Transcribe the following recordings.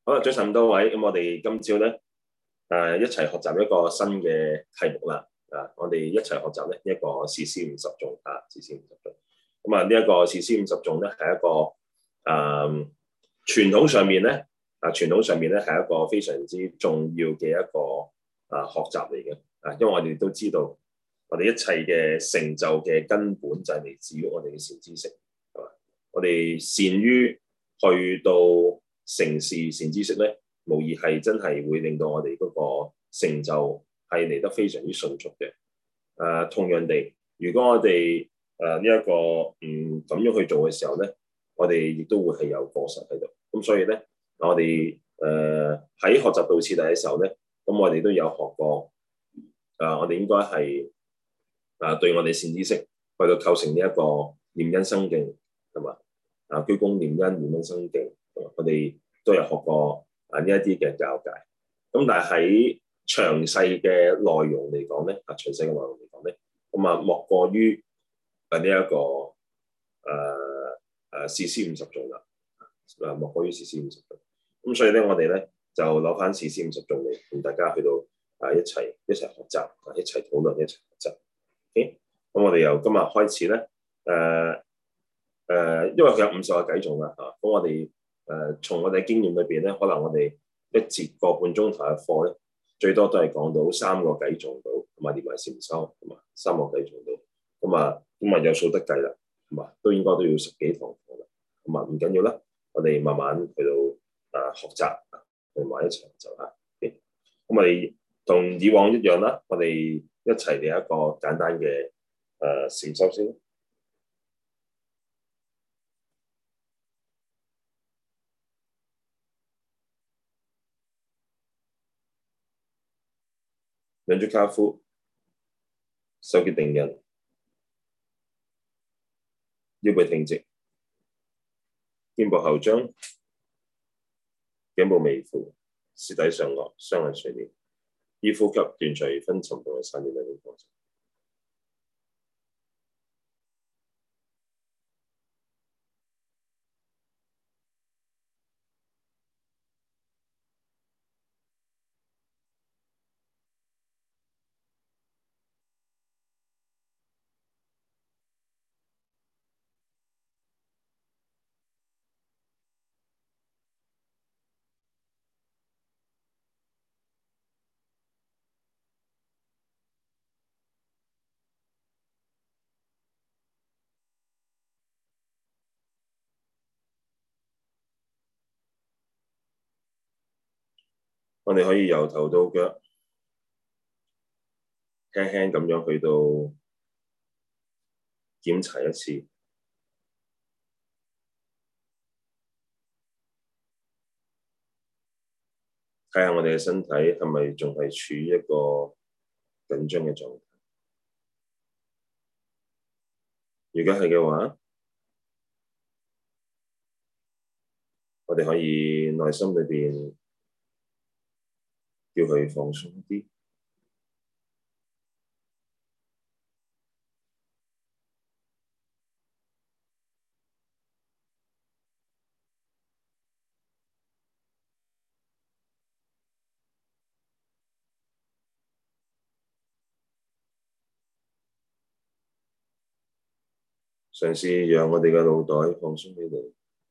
好啦，早晨咁多位，咁我哋今朝咧一齊學習一個新嘅題目啦。我哋一齊學習咧一個事師五十頌啊，事師五十頌。咁啊，呢一個事師五十頌咧係一個傳統上面咧傳統上面咧係一個非常之重要嘅一個學習嚟嘅因為我哋都知道我哋一切嘅成就嘅根本就係嚟自於我哋嘅善知識，係嘛？我哋善於去到成事善知識咧，無疑係真係會令到我哋嗰個成就係嚟得非常之迅速嘅。同樣地，如果我哋呢一個咁樣去做嘅時候咧，我哋亦都會係有過失喺度。咁所以咧，我哋喺學習道次第嘅時候咧，咁我哋都有學過我哋應該係對我哋善知識去到構成呢一個念因生敬，係嘛？居功念因念因生敬，我哋都有學過呢一啲嘅教誡。咁但係喺詳細嘅內容嚟講咧，詳細嘅內容嚟講咧，咁莫過於呢一個事師五十頌啦，莫過於事師五十頌。咁所以咧，我哋咧就攞翻事師五十頌嚟同大家去到一齊學習，一齊討論，一齊學習。OK，咁我哋由今日開始咧，因為佢有50個偈頌啦，咁我哋從我哋經驗裏邊咧，可能我哋一節個半鐘頭嘅課咧，最多都係講到3個偈頌到，同埋連埋禪修，同埋3個偈頌到，咁有數得計啦，同埋都應該都要10幾堂課啦，唔緊要啦，我哋慢慢去到學習，同埋一齊學習嚇。咁我哋同以往一樣啦，我哋一齊嚟一個簡單嘅禪修先。兩足跏趺，手結定印，腰背挺直，肩部後張，頸部微俯，舌抵上顎，雙眼垂簾，依呼吸斷除昏沉同埋散亂兩種過程。我哋可以由頭到腳輕輕咁樣去到檢查一次，睇下我哋嘅身體係咪仲係處於一個緊張嘅狀態。如果係嘅話，我哋可以內心裏邊叫佢放鬆啲。嘗試讓我哋嘅腦袋放鬆起嚟，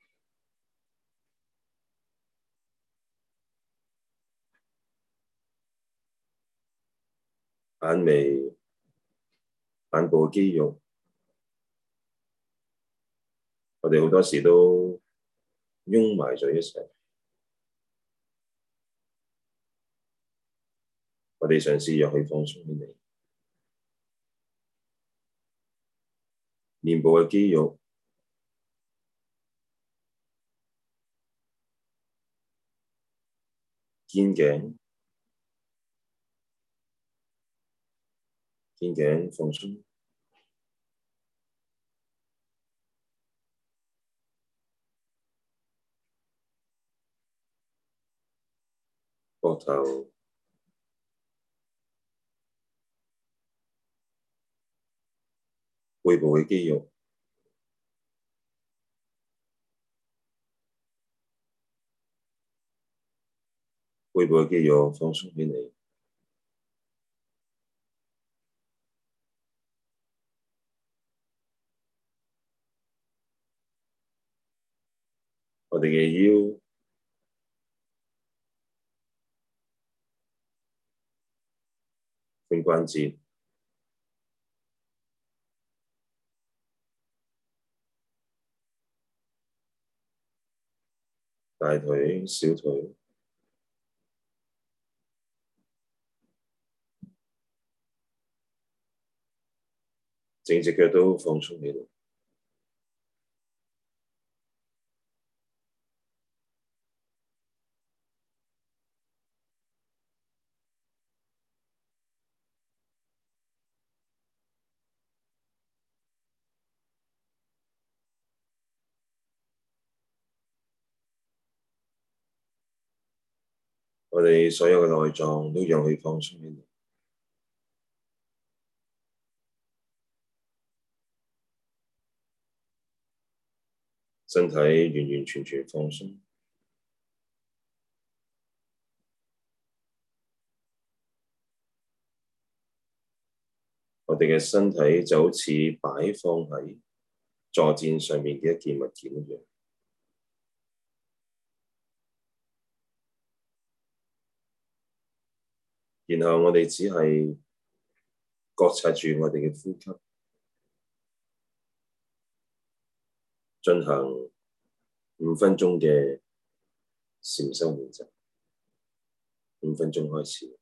眼眉、眼部嘅肌肉，我哋好多時都擁埋咗一齊。我哋嘗試讓佢放鬆起嚟，面部嘅肌肉、肩頸放鬆，膊頭、背部嘅肌肉、 背部嘅肌肉放鬆起嚟，我哋嘅腰、髖關節、大腿、小腿，整隻腳都放鬆起嚟。我哋所有嘅內臟都讓佢放鬆起嚟，身體完完全全放鬆。我哋嘅身體就好似擺放喺坐墊上面嘅一件物件一樣，然後我哋只係覺察住我哋嘅呼吸，進行5分鐘嘅禪修練習。5分鐘開始。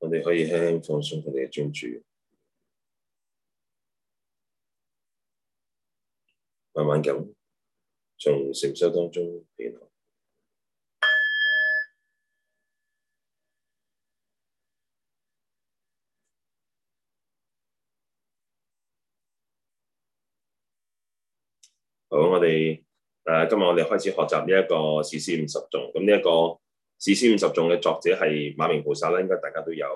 我哋可以輕輕放鬆佢哋嘅專注，慢慢咁從禪修當中起來。好，今日我哋開始學習呢一個事師五十頌。咁呢一個事師五十頌嘅作者係馬鳴菩薩啦，應該大家都有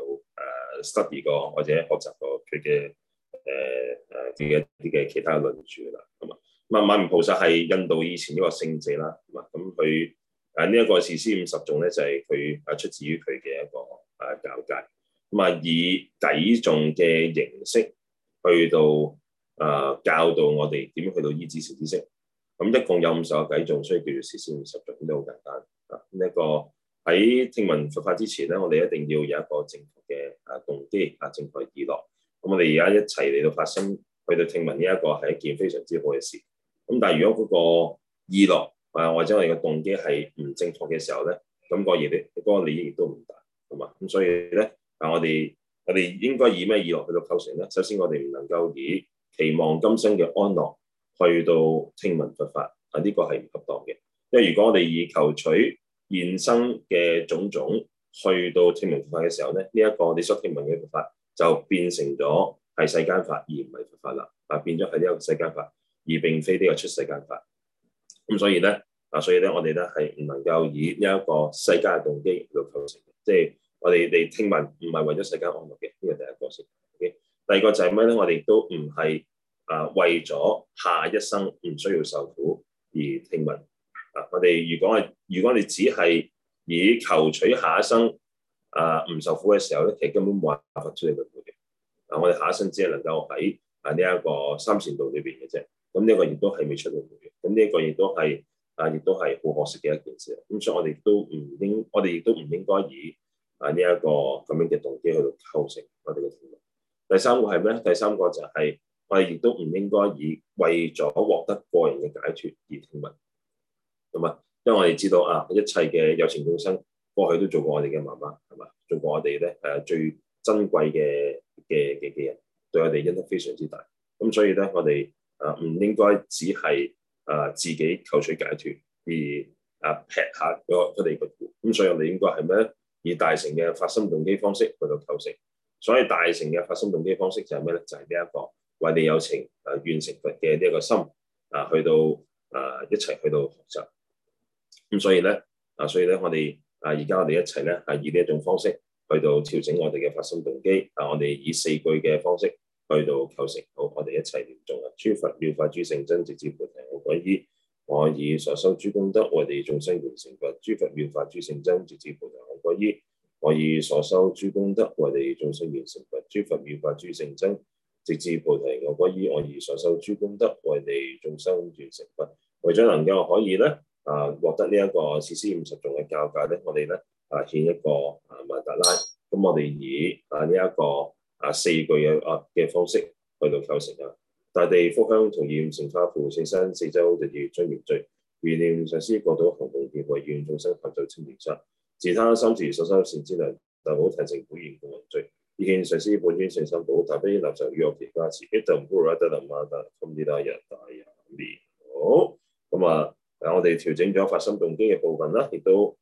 study 過或者學習過佢嘅一啲嘅其他嘅論著啦。咁啊，馬鳴菩薩係印度以前一個聖者啦。咁佢呢一個事師五十頌咧就係佢出自於佢嘅一個教誡。咁以偈頌嘅形式去到教導我哋點樣去到依止善知識。咁一共有50個偈頌，所以叫做事師五十頌，都好簡單。呢一個喺聽聞佛法之前咧，我哋一定要有一個正確嘅動機，正確嘅意樂。咁我哋而家一齊嚟到發心，去到聽聞呢一個係一件非常之好嘅事。咁但係如果嗰個意樂或者我哋嘅動機係唔正確嘅時候咧，咁個利益亦都唔大，係嘛？咁所以咧我哋應該以咩意樂去到構成咧？首先我哋唔能夠以期望今生嘅安樂去到聽聞佛法，呢個係唔恰當嘅。因為如果我哋以求取現生嘅種種去到聽聞佛法嘅時候咧，呢一個你所聽聞嘅佛法就變成咗係世間法而唔係佛法啦，變咗係呢個世間法而並非呢個出世間法。咁所以咧我哋咧係唔能夠以呢一個世間嘅動機去到構成，即係我哋聽聞唔係為咗世間安樂嘅，呢個第一個先。Okay? 第二個就係咩咧？我哋都唔係為咗下一生唔需要受苦而聽聞。我哋如果你只係以求取下一生唔受苦嘅時候咧，其實根本冇辦法出嚟輪迴嘅。我哋下一生只係能夠喺呢一個三善道裏邊嘅啫。咁呢個亦都係未出輪迴嘅。咁呢一個亦都係好可惜嘅一件事。咁所以我哋亦都唔應該以呢一個咁樣嘅動機去到構成我哋嘅聽聞。第三個係咩咧？第三個就係我哋亦都唔應該以為咗獲得個人嘅解脫而聽聞。咁因為我哋知道一切嘅有情眾生過去都做過我哋嘅媽媽，係嘛？做過我哋咧最珍貴嘅人，對我哋恩德非常之大。咁所以咧，我哋唔應該只係自己求取解脫而劈下佢哋嘅苦。咁所以我哋應該係咩咧？以大乘嘅發心動機方式去到構成。所以大乘嘅發心動機方式就係咩咧？就係呢一個為你有情願成佛嘅呢一個心去到一齊去到學習。咁所以咧我哋而家我哋一齊咧以呢一種方式去到調整我哋嘅發心動機。我哋以4句嘅方式去到構成。好，我哋一齊念誦啊！諸佛妙法諸聖真，直至菩提我歸依。我以所修諸功德，為利眾生願成佛。諸佛妙法諸聖真，直至菩提我歸依。我以所修諸功德，為利眾生願成佛。諸佛妙法諸聖真，直至菩提我歸依。我以所修諸功德，為利眾生願成佛。為咗能夠可以咧獲得呢一個事師五十頌嘅教誡咧，我哋咧獻一個曼達拉。咁我哋以呢一個4句嘅方式去到構成啊！大地福香同焰成化富，聖山四周日月追滅罪。願念上師國土行同業，為願眾生求就清淨心。自他三時所修善之糧，大寶提成普賢共雲聚。以獻上師本尊聖心寶，大悲納受與樂其加持，一等般若得能馬達堪啲大日大人面。好，咁我哋調整咗發心動機嘅部分啦，亦都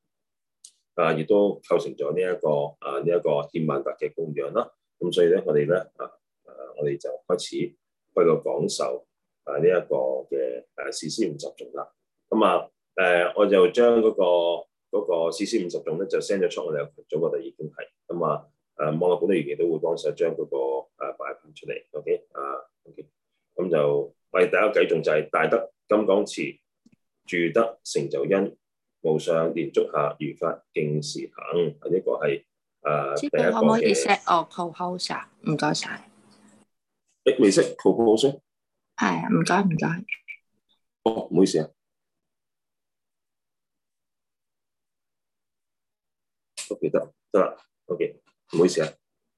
構成咗呢一個獻曼達嘅供養啦。咁所以咧，我哋就開始去到講授呢一個嘅事師五十頌啦。我就將嗰個事師五十頌咧就 send 咗出我哋嘅群組嗰度已經係。網絡本地員亦都會幫手將嗰個擺翻出嚟。OK 咁就我哋第一個偈頌就係大德金剛持，住得成就因，無上蓮足下，如法敬時行。呢個係第一個嘅。可唔可以 set 我 co-host 啊？唔該晒。未識 co-host？ 係啊，唔該。哦，唔好意思啊。OK，得啦。OK，唔好意思啊。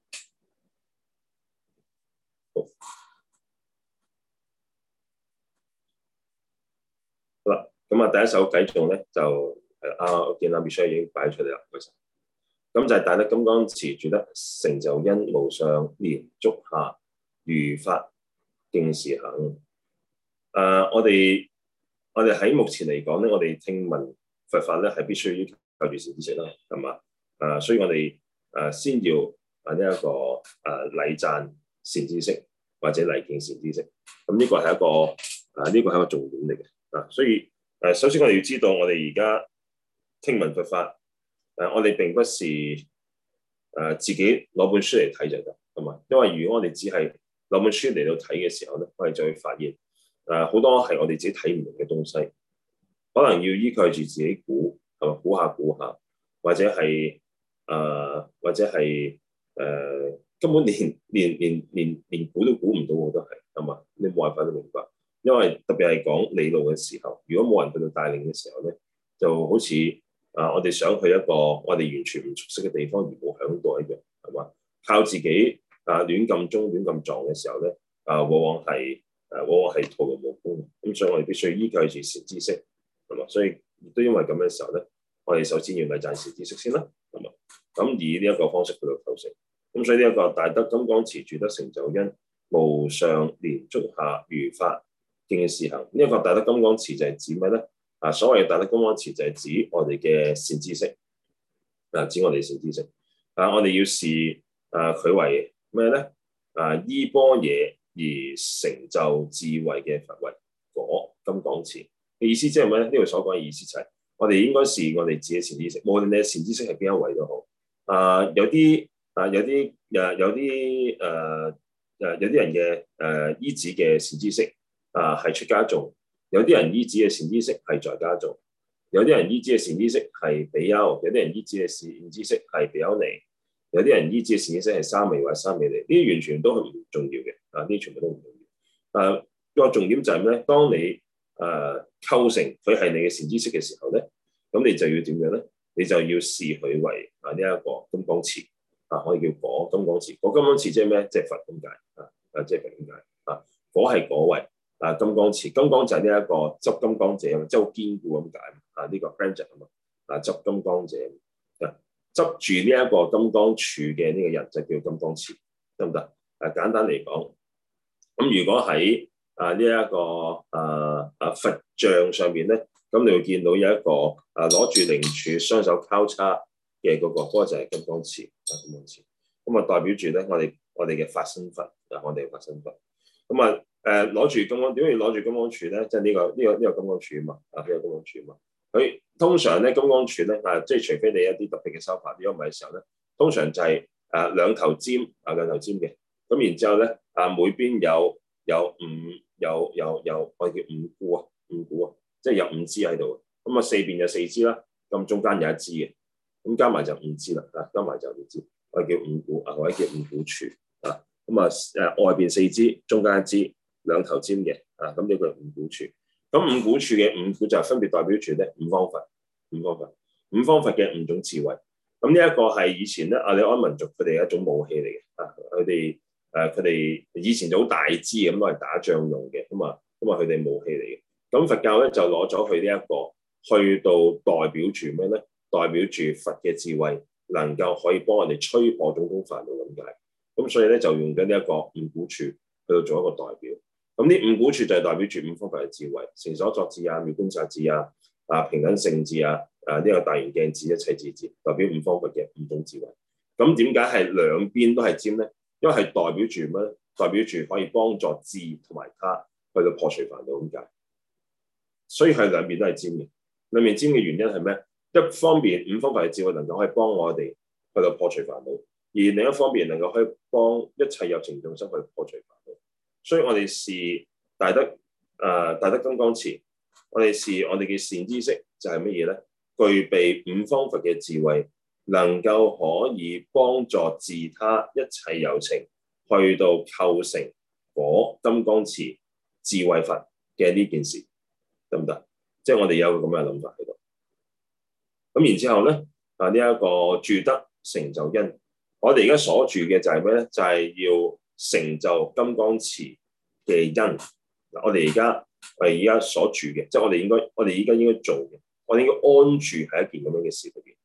好啦，咁第一首偈頌咧就我見阿 Michelle 已經擺出嚟啦，唔該晒。 咁就係大德金剛持住得成就因無上蓮足下如法敬事行。我哋喺目前嚟講咧，我哋聽聞佛法咧係必須要靠住善知識啦，係嘛？所以我哋先要呢一個禮讚善知識或者禮敬善知識。咁呢個係一個呢個係一個重點嚟嘅。所以首先我哋要知道，我哋而家聽聞佛法，我哋並不是自己攞本書嚟睇就得，係嘛？因為如果我哋只係攞本書嚟到睇嘅時候咧，我哋就會發現好多係我哋自己睇唔明嘅東西，可能要依靠住自己估，係嘛？估下，或者係根本連估都估唔到，我都係嘛？你冇辦法都明白，因為特別係講理路嘅時候，如果冇人去到帶領嘅時候咧，就好似我哋想去一個我哋完全唔熟悉嘅地方而冇響度一樣，係嘛？靠自己亂咁中亂咁撞嘅時候咧，往往係徒勞無功。咁所以我哋必須依靠住善知識，係嘛？所以亦都因為咁嘅時候咧，我哋首先要禮讚善知識先啦，係嘛？咁以呢一個方式去到構成。咁所以呢一個大德金剛持住得成就因無上蓮足下如法敬事行。呢一個大德金剛持就係指咩咧？所謂嘅大德金剛持就係指我哋嘅善知識，指我哋善知識。我哋要視佢為咩咧？依般若而成就智慧嘅佛為果金剛持嘅意思即係咩咧？呢度所講嘅意思就係我哋應該視我哋自己善知識，無論你嘅善知識係邊一位都好。有啲人嘅依止嘅善知識係出家眾，有啲人依止嘅善知識係在家眾，有啲人依止嘅善知識係比丘，有啲人依止嘅善知識係比丘尼，有啲人依止嘅善知識係沙彌或者沙彌尼，呢啲完全都係唔重要嘅，呢啲全部都唔重要。個重點就係咩咧？當你構成佢係你嘅善知識嘅時候咧，咁你就要點樣咧？你就要視佢為呢一個金剛持，我哋叫果金剛持。果金剛持即係咩？即係佛咁解，即係佛咁解。果係果位，金剛持，金剛就係呢一個執金剛者，即係好堅固咁解。呢個 friend 啊嘛，執金剛者，執住呢一個金剛杵嘅呢個人就叫金剛持，得唔得？簡單嚟講，咁如果喺呢一個佛像上面咧，咁你會見到有一個攞住鈴杵、雙手交叉嘅嗰個就係金剛持，金剛持。咁代表住咧我哋嘅法身佛，我哋嘅法身佛。咁攞住金剛，點解要攞住金剛杵咧？即係呢個金剛杵啊嘛，呢個金剛杵啊嘛。佢通常咧金剛杵咧即係除非你一啲特別嘅修法，如果唔係嘅時候咧，通常就係兩頭尖嘅。咁然之後咧每邊有我哋叫五股，即係有5支喺度。咁四邊有4支啦，咁中間有1支嘅，咁加埋就5支啦，加埋就5支，我哋叫五股或者叫五股杵。外邊4支，中間1支，兩頭尖嘅，咁呢個係五股杵。咁五股杵嘅五股就分別代表住咧五方佛嘅5種智慧。咁呢一個係以前咧阿里安民族佢哋一種武器嚟嘅，佢哋以前就好大支咁攞嚟打仗用嘅，咁佢哋武器嚟嘅。咁佛教咧就攞咗佢呢一個去到代表住咩咧？代表住佛嘅智慧，能夠可以幫我哋吹破種種煩惱咁解。咁所以咧就用緊呢一個五股杵去到做一個代表。咁呢五股杵就係代表住五方佛嘅智慧，成所作智妙觀察智平等性智呢個大圓鏡智一切智，代表五方佛嘅5種智慧。咁點解係兩邊都係尖咧？因為係代表住咩？代表住可以幫助智同埋他去到破除煩惱咁解。所以係兩邊都係尖嘅。兩邊尖嘅原因係咩？一方面五方佛嘅智慧能夠可以幫我哋去到破除煩惱，而另一方面能夠可以幫一切有情眾生去破除煩惱。所以我哋視大德金剛持，我哋視我哋嘅善知識就係乜嘢咧？具備五方佛嘅智慧，能夠可以幫助自他一切有情去到構成果金剛持智慧佛嘅呢件事，得唔得？即係我哋有個咁嘅諗法喺度。咁然之後咧呢一個住得成就因，我哋而家所住嘅就係咩咧？就係要成就金剛持嘅因。我哋而家所住嘅，即係我哋而家應該做嘅，我哋應該安住喺一件咁樣嘅事裏邊。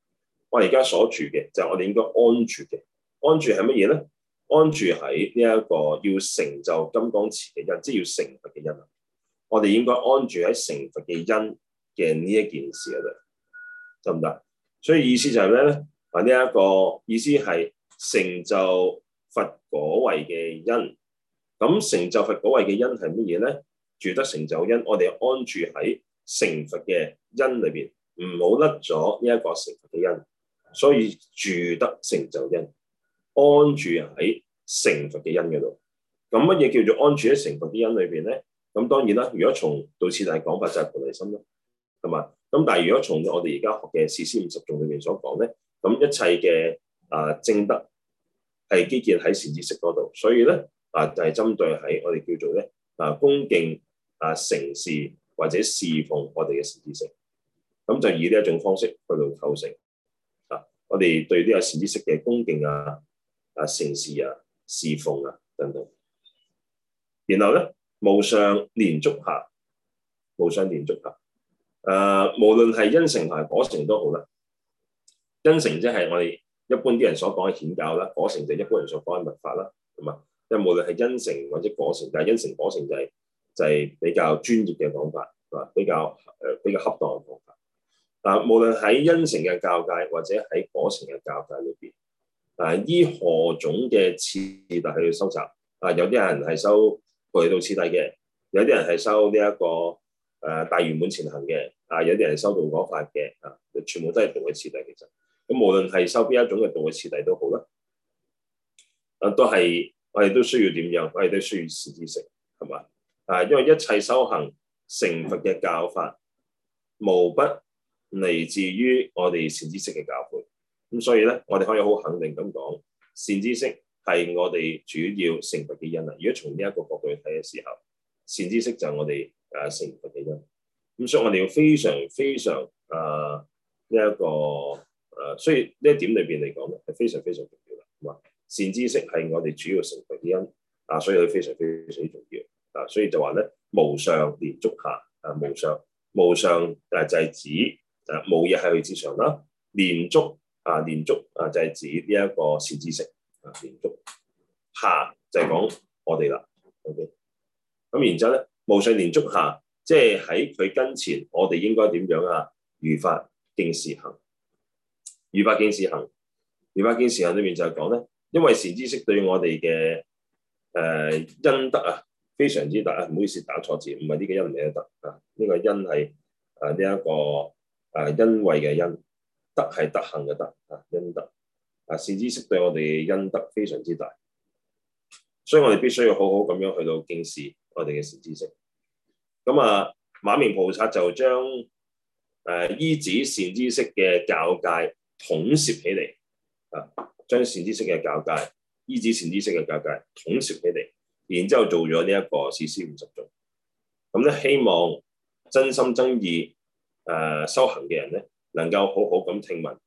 我而家所住嘅就係我哋應該安住嘅。安住係乜嘢咧？安住喺呢一個要成就金剛持嘅因，即係要成佛嘅因。我哋應該安住喺成佛嘅因嘅呢一件事嗰度，得唔得？所以意思就係咩咧？啊，呢一個意思係成就佛果位嘅因。咁成就佛果位嘅因係乜嘢咧？住得成就因，我哋安住喺成佛嘅因裏邊，唔好甩咗呢一個成佛嘅因。所以住得成就因，安住喺成佛嘅因嗰度。咁乜嘢叫做安住喺成佛嘅因裏邊咧？咁當然啦，如果從道次第講法就係菩提心啦，係嘛？咁但係如果從我哋而家學嘅事師50頌裏面所講咧，咁一切嘅正德係基建喺善知識嗰度，所以咧就係針對喺我哋叫做咧恭敬承事或者侍奉我哋嘅善知識，咁就以呢一種方式去到構成我哋對呢個善知識嘅恭敬承事侍奉等等。然後咧無上蓮足下，無上蓮足下，無論係因乘同埋果乘都好啦。因乘即係我哋一般啲人所講嘅顯教啦，果乘就係一般人所講嘅密法啦，係嘛？即係無論係因乘或者果乘，但係因乘果乘就係比較專業嘅講法，係嘛？比較恰當嘅講法。無論喺因乘嘅教界或者喺果乘嘅教界裏邊，依何種嘅次第去收集？有啲人係收菩提道次第嘅，有啲人係收呢一個大圓滿前行嘅，有啲人係收道果法嘅，全部都係道嘅次第。其實咁無論係收邊一種嘅道嘅次第都好啦，都係我哋都需要點樣？我哋都需要善知識，係嘛？因為一切修行成佛嘅教法，無不嚟自於我哋善知識嘅教誨。咁所以咧，我哋可以好肯定咁講，善知識係我哋主要成佛嘅因啦。如果從呢一個角度去睇嘅時候，善知識就係我哋成佛嘅因。咁所以我哋要非常非常呢一個所以呢一點裏邊嚟講咧，係非常非常重要啦。咁啊，善知識係我哋主要成佛嘅因所以佢非常非常之重要所以就話咧，無上蓮足下無上就係指無嘢喺佢之上啦。蓮足就係指呢一個善知識蓮足下就係講我哋啦。OK， 咁然之後咧，無上蓮足下，即係喺佢跟前，我哋應該點樣如法敬事行。如法敬事行，如法敬事行裏面就係講咧，因為善知識對我哋嘅恩德非常之大。唔好意思打錯字，唔係呢個恩嚟嘅德呢個恩係呢一個恩惠嘅恩，德係德行嘅德恩德善知識對我哋嘅恩德非常之大，所以我哋必須要好好咁樣去到敬視我哋嘅善知識。咁馬鳴菩薩就將依止善知識嘅教界統攝起嚟將善知識嘅教界依止善知識嘅教界統攝起嚟，然之後做咗呢一個事師50頌。咁咧，希望真心真意修行嘅人咧，能夠好好咁聽聞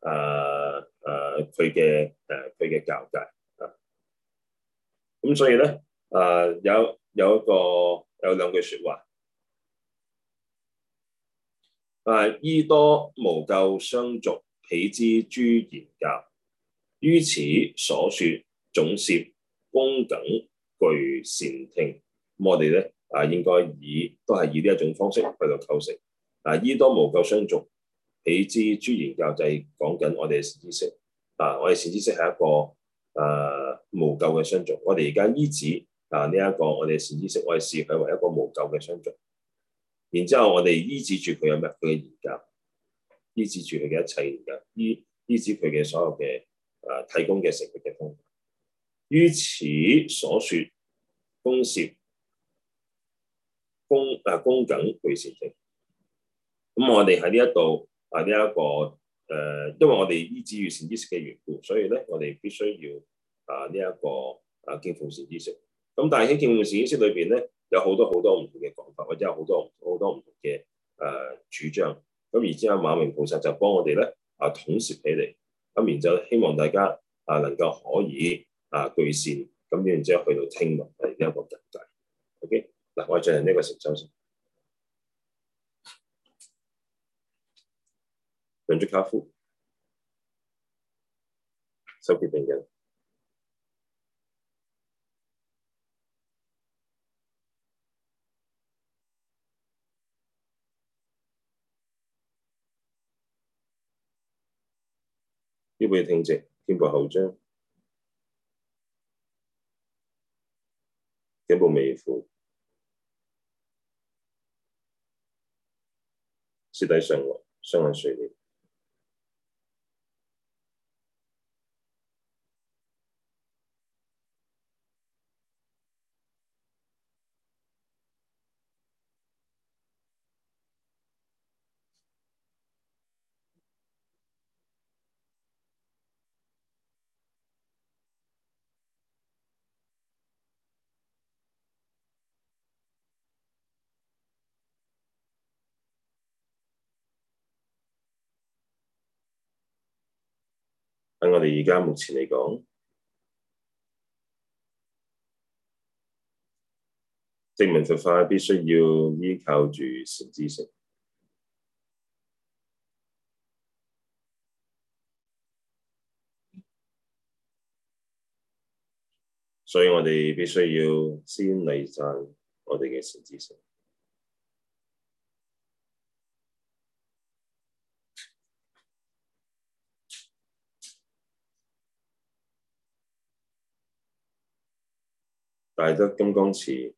佢嘅教界咁所以咧有兩句説話依多無垢相續，彼之諸言教。於此所說總攝恭謹具善聽。咁我哋咧應該都係以呢一種方式去到構成依多無垢相續，彼之諸言教，就係講緊我哋嘅善知識我哋善知識係一個無垢嘅相續。我哋而家依止呢一個我哋善知識，我哋視佢為一個無垢嘅相續。然之後我哋依止住佢有咩？佢嘅言教，依止住佢嘅一切言教，依止佢嘅所有嘅提供嘅成佛嘅方法。於此所說恭攝恭謹具善聽。咁我哋喺呢一度呢一個因為我哋依止住善知識嘅緣故，所以咧我哋必須要呢一個敬奉善知識。咁但係喺敬奉善知識裏邊咧，有好多好多唔同嘅講法，或者有好多唔同嘅主張。咁而之後馬鳴菩薩就幫我哋咧統攝起嚟。咁然之後希望大家能夠可以具善，咁然之後去到聽聞呢一個境界。OK， 嗱，我哋進行呢個成就先。兩足跏趺。 手結定印，腰背挺直，肩部後張，頸部微俯，舌抵上顎，雙眼垂簾。喺我哋而家目前嚟講，證明佛法必須要依靠住善知識，所以我哋必須要先禮讚我哋嘅善知識。大德金剛持，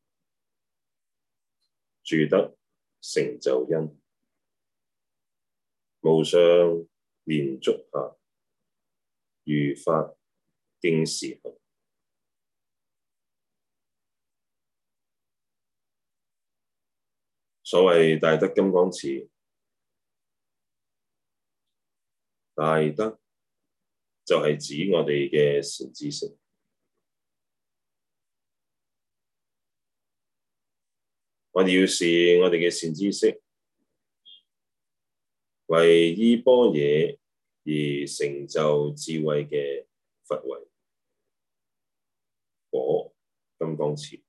住得成就因，無上蓮足下，如法敬時行。所謂大德金剛持，大德就係指我哋嘅善知識。我哋要視我哋嘅善知識為依般若而成就智慧嘅佛為果金剛持。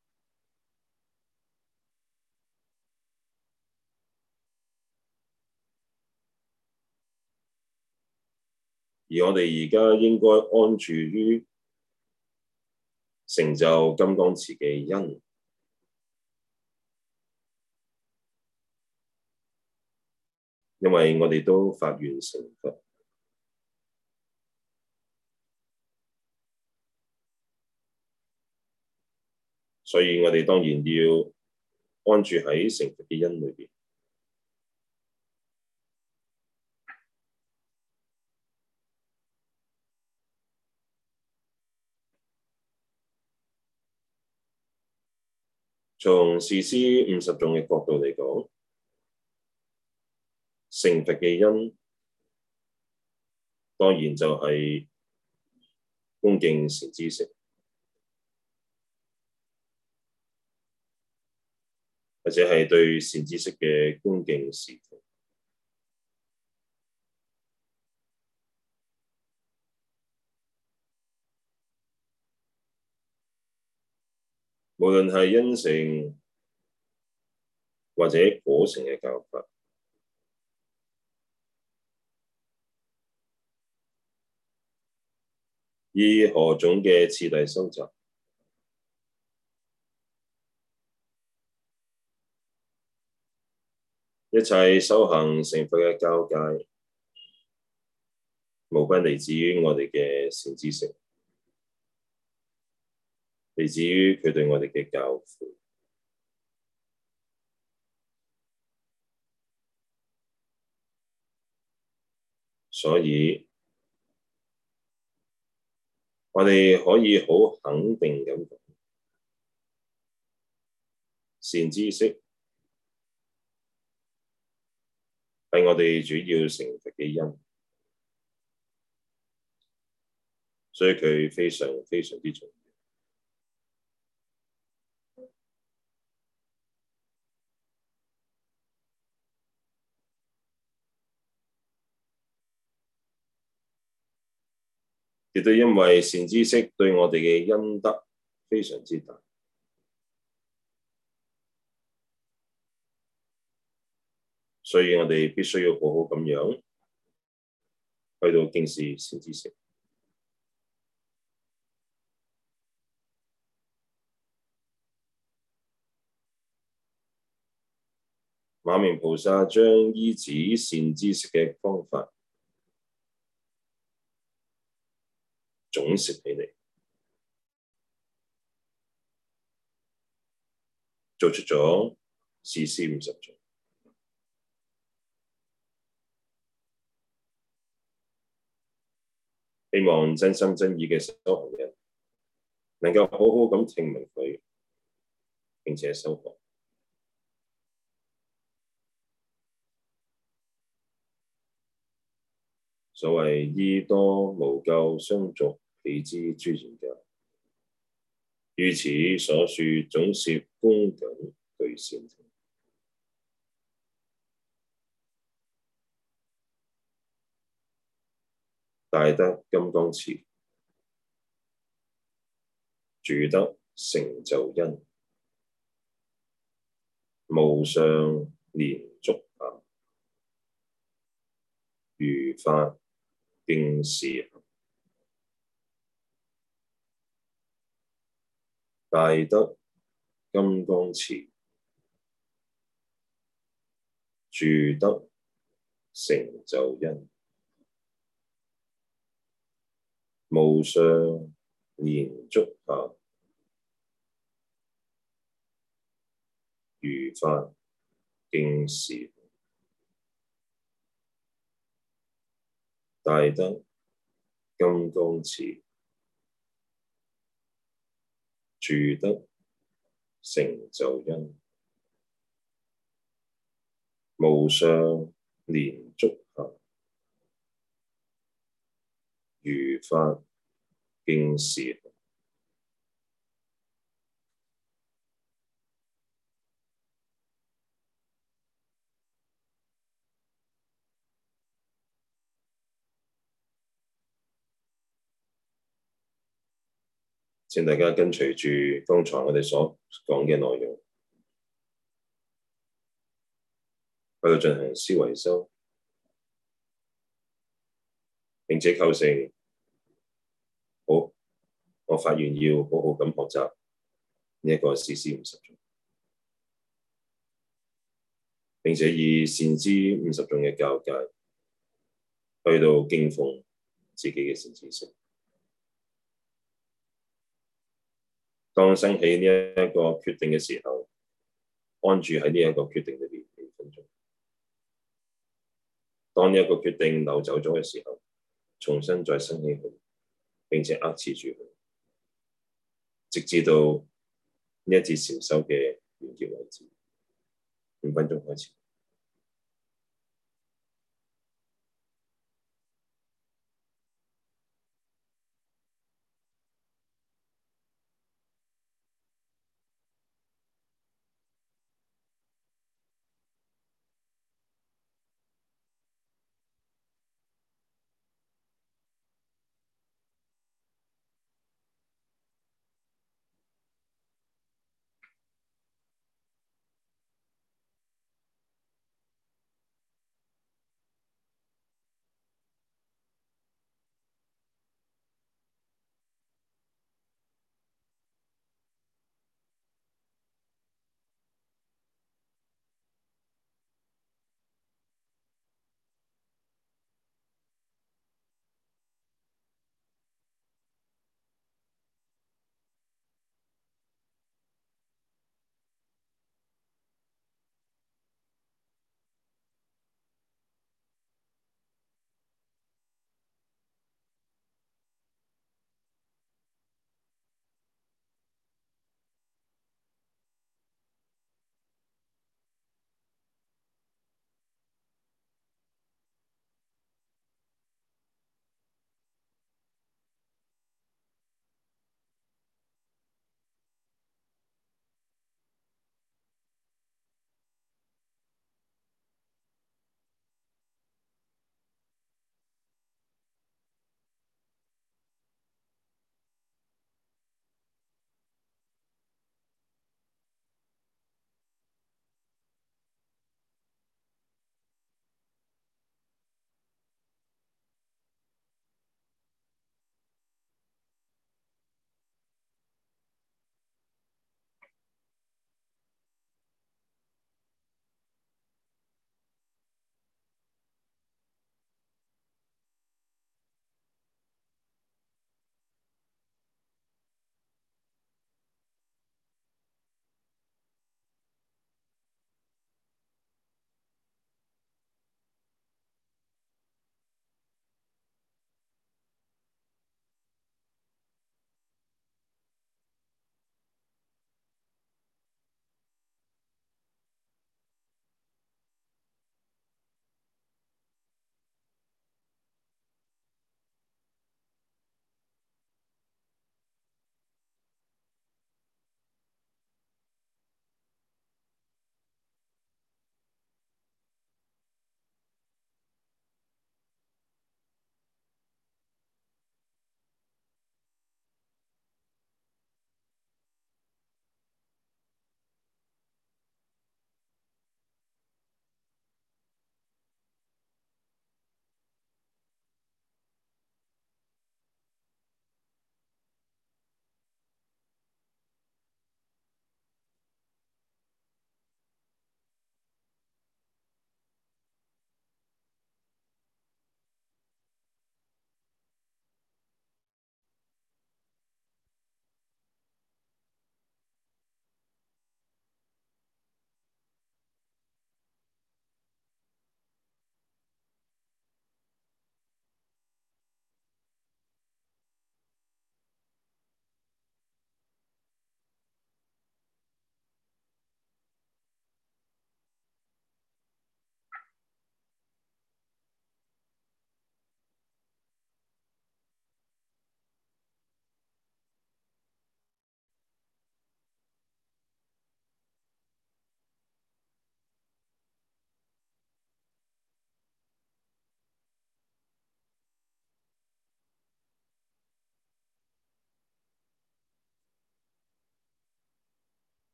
而我哋而家應該安住於成就金剛持嘅因，因為我哋都發願成佛，所以我哋當然要安住喺成佛嘅因裏邊。從事師50頌嘅角度嚟講，成佛嘅因當然就係恭敬善知識，或者係對善知識嘅恭敬侍奉。無論係因乘或者果乘嘅教法，以何種嘅次第修習，一切修行成佛嘅交界，無不嚟自於我哋嘅善知識，嚟自於佢對我哋嘅教誨。所以，我哋可以好肯定咁講，善知識係我哋主要成佛嘅因，所以佢非常非常之重要。亦都因為善知識對我哋嘅恩德非常之大，所以我哋必須要好好咁樣去到敬視善知識。 馬鳴菩薩將依止善知識嘅方法總攝起嚟，做出咗事師50種。希望真心真意嘅修行人能夠好好咁聽聞佢，並且修學。所謂依多無垢相續彼之諸賢教，於此所說總攝恭謹具善聽。大德金剛持，住得成就因，無上蓮足下，如法敬事行。大德金剛持，住得成就因，無上蓮足下，如法敬事行。大德金剛持，住得成就因，無上蓮足下，如法敬事行。請大家跟隨住剛才我哋所講嘅內容，去到進行思維修，並且構成好，我發願要好好咁學習呢一個事師50種，並且以善知50種嘅教誡去到敬奉自己嘅善知識。當生起呢一個決定嘅時候，安住喺呢一個決定裏邊幾分鐘。當呢一個決定流走咗嘅時候，重新再生起佢，並且握持住佢，直至到呢一節禪修嘅完結為止。5分鐘開始。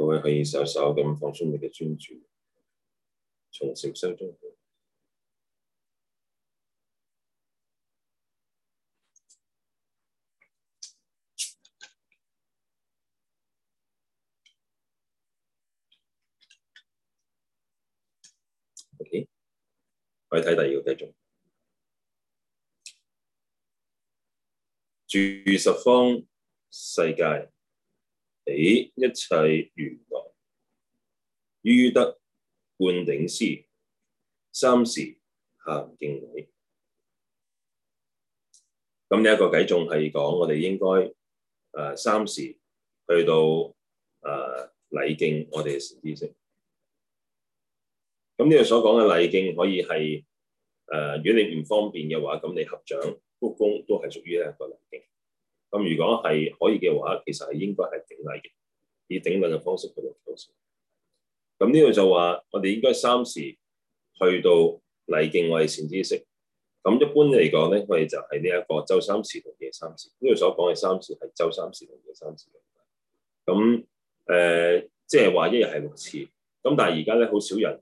各位可以稍稍咁放鬆你嘅專注，從禪修中。OK， 我哋睇第二個繼續。住十方世界，彼一切如來，於德灌頂施，三時咸敬禮。咁呢一個偈頌係講我哋應該三時去到禮敬我哋嘅善知識。咁呢度所講嘅禮敬可以係如果你唔方便嘅話，咁你合掌鞠躬都係屬於一個禮敬。咁如果係可以嘅話，其實係應該係頂禮嘅，以頂禮嘅方式去到構成。咁呢度就話我哋應該三時去到禮敬我哋善知識。咁一般嚟講咧，我哋就係呢一個晝三時同夜三時。呢度所講嘅三時係晝三時同夜三時。咁即係話一日係6次。咁但係而家咧好少人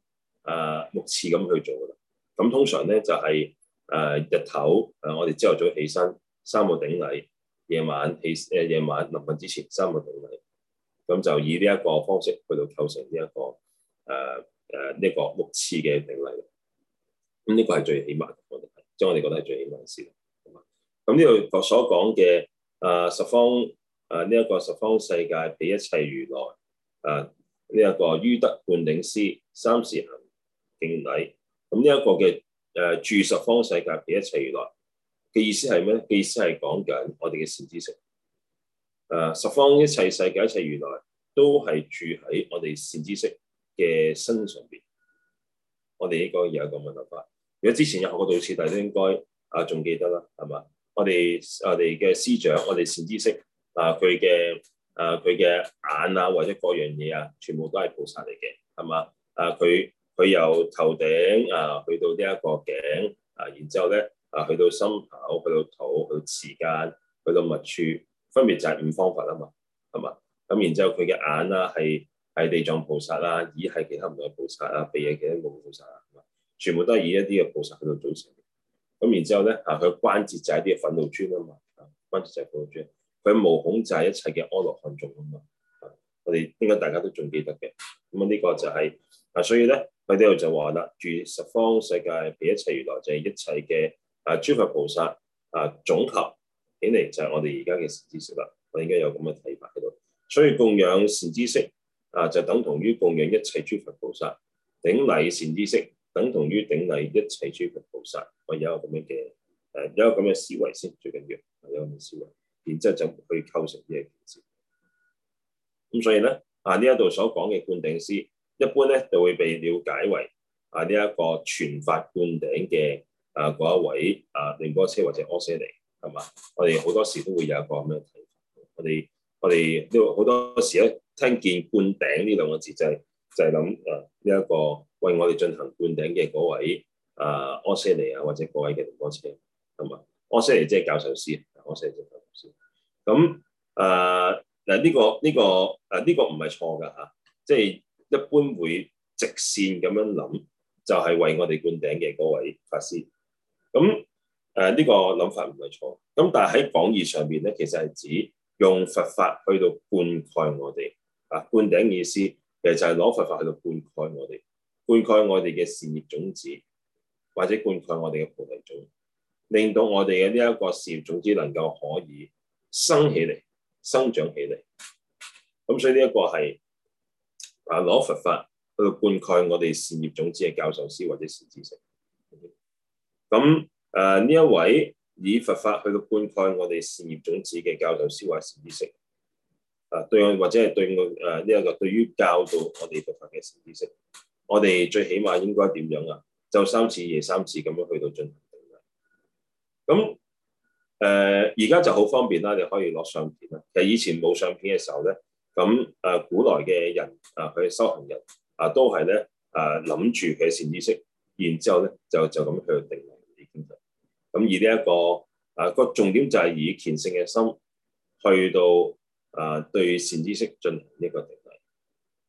6次咁去做㗎啦。咁通常咧就係日頭我哋朝頭早起身三個頂禮，夜晚臨瞓之前三個頂禮。咁就以呢一個方式去到構成呢一個呢個6次嘅頂禮。咁呢個係最起碼嘅，即係我哋覺得係最起碼嘅事。咁呢度所講嘅十方呢一個十方世界，彼一切如來呢一個於德灌頂施，三時咸敬禮。咁呢一個嘅住十方世界，彼一切如來嘅意思係咩咧？嘅意思係講緊我哋嘅善知識。十方一切世界一切如來都係住喺我哋善知識嘅身上邊。我哋應該有一個問法。如果之前有學過道次第都應該仲記得啦，係嘛？我哋嘅師長，我哋善知識佢嘅眼或者各樣嘢全部都係菩薩嚟嘅，係嘛？佢由頭頂去到呢一個頸然之後咧去到心口，去到肚，去到臍間，去到密處，分別就係5方法啊嘛，係嘛？咁然之後佢嘅眼係地藏菩薩耳係其他唔同嘅菩薩鼻係其他唔同嘅菩薩全部都係以一啲嘅菩薩去到組成。咁然之後咧佢關節就係一啲嘅忿怒尊啊嘛，關節就係忿怒尊。佢毛孔就係一切嘅阿羅漢眾啊嘛。我哋應該大家都仲記得嘅。咁呢個就係所以咧佢呢度就話啦，住十方世界，彼一切如來就係一切嘅諸佛菩薩總合起嚟就係我哋而家嘅善知識啦。我應該有咁嘅睇法喺度。所以供養善知識就等同於供養一切諸佛菩薩，頂禮善知識等同於頂禮一切諸佛菩薩。我有一個咁樣嘅有一個咁嘅思維先，最緊要有咁嘅思維，然之後就去構成呢一件事。咁所以咧呢一度所講嘅灌頂施，一般咧就會被了解為呢一個傳法灌頂嘅嗰一位仁波切或者阿闍黎，係嘛？我哋好多時都會有一個咁樣嘅睇法。我哋都好多時咧聽見灌頂呢兩個字，就係諗呢一個為我哋進行灌頂嘅嗰位阿闍黎或者嗰位嘅仁波切，係嘛？阿闍黎即係教授師，阿闍黎即係教授師。咁呢個唔係錯㗎嚇，即係一般會直線咁樣諗，就係為我哋灌頂嘅嗰位法師。咁呢個諗法唔係錯。咁但係喺廣義上邊咧，其實係指用佛法去到灌溉我哋灌頂意思，其實就係攞佛法去到灌溉我哋，灌溉我哋嘅善業種子，或者灌溉我哋嘅菩提種，令到我哋嘅呢一個善業種子能夠可以生起嚟、生長起嚟。咁所以呢一個係攞佛法去到灌溉我哋善業種子嘅教授師或者善知識。咁呢一位以佛法去到灌溉我哋善業種子嘅教授師或善知識，對或者係對呢一個對於教導我哋佛法嘅善知識，我哋最起碼應該點樣晝三次夜三次咁樣去到進行頂禮。咁而家就好方便啦，你可以攞相片啦。其實以前冇相片嘅時候咧，咁古來嘅人佢修行人都係咧諗住佢嘅善知識，然之後咧就咁去到頂禮。咁而呢一個個重點就係以虔誠嘅心去到對善知識進行一個頂禮。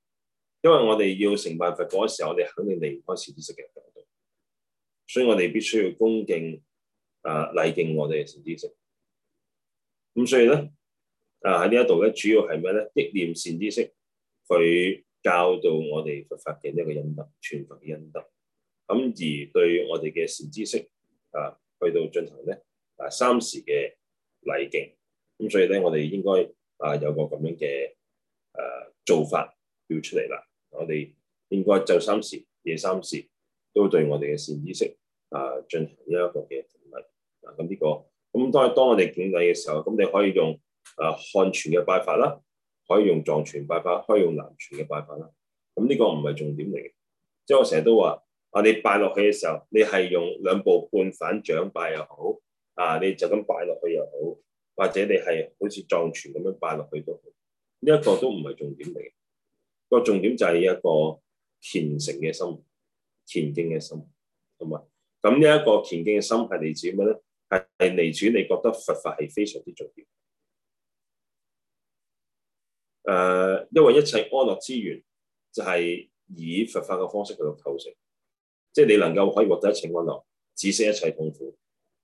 因為我哋要成辦佛果嘅時候，我哋肯定離唔開善知識嘅教導，所以我哋必須要恭敬禮敬我哋嘅善知識。咁所以咧喺呢一度咧，主要係咩咧？憶念善知識，佢教導我哋佛法嘅一個恩德，傳佛嘅恩德。咁而對我哋嘅善知識去到進行咧三時嘅禮敬。咁所以咧，我哋應該有個咁樣嘅做法要出嚟啦。我哋應該晝三時、夜三時都對我哋嘅善知識進行一個嘅敬禮。咁呢個咁當我哋敬禮嘅時候，咁你可以用漢傳嘅拜法啦，可以用藏傳拜法，可以用南傳嘅拜法啦。咁呢個唔係重點嚟嘅，即係我成日都話你拜落去嘅時候，你係用兩部半反掌拜又好，你就咁拜落去又好，或者你係好似藏傳咁樣拜落去都好，呢一個都唔係重點嚟嘅。個重點就係一個虔誠嘅心、虔敬嘅心，同埋咁呢一個虔敬嘅心係嚟自咩咧？係嚟自你覺得佛法係非常之重要。因為一切安樂之源就係以佛法嘅方式去到構成，即係你能夠可以獲得一切安樂，止息一切痛苦。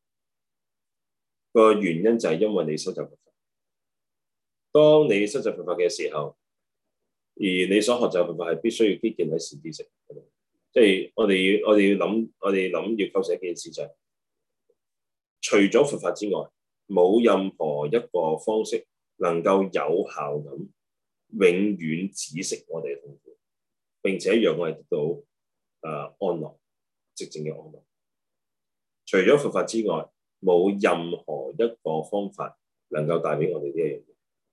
個原因就係因為你修習佛法。當你修習佛法嘅時候，而你所學習佛法係必須要基建喺善知識，即係我哋要諗要構成一件事就係，除咗佛法之外，冇任何一個方式能夠有效咁永遠止息我哋嘅痛苦，並且讓我哋得到安樂，寂靜嘅安樂。除咗佛法之外，冇任何一個方法能夠帶俾我哋呢一樣嘢。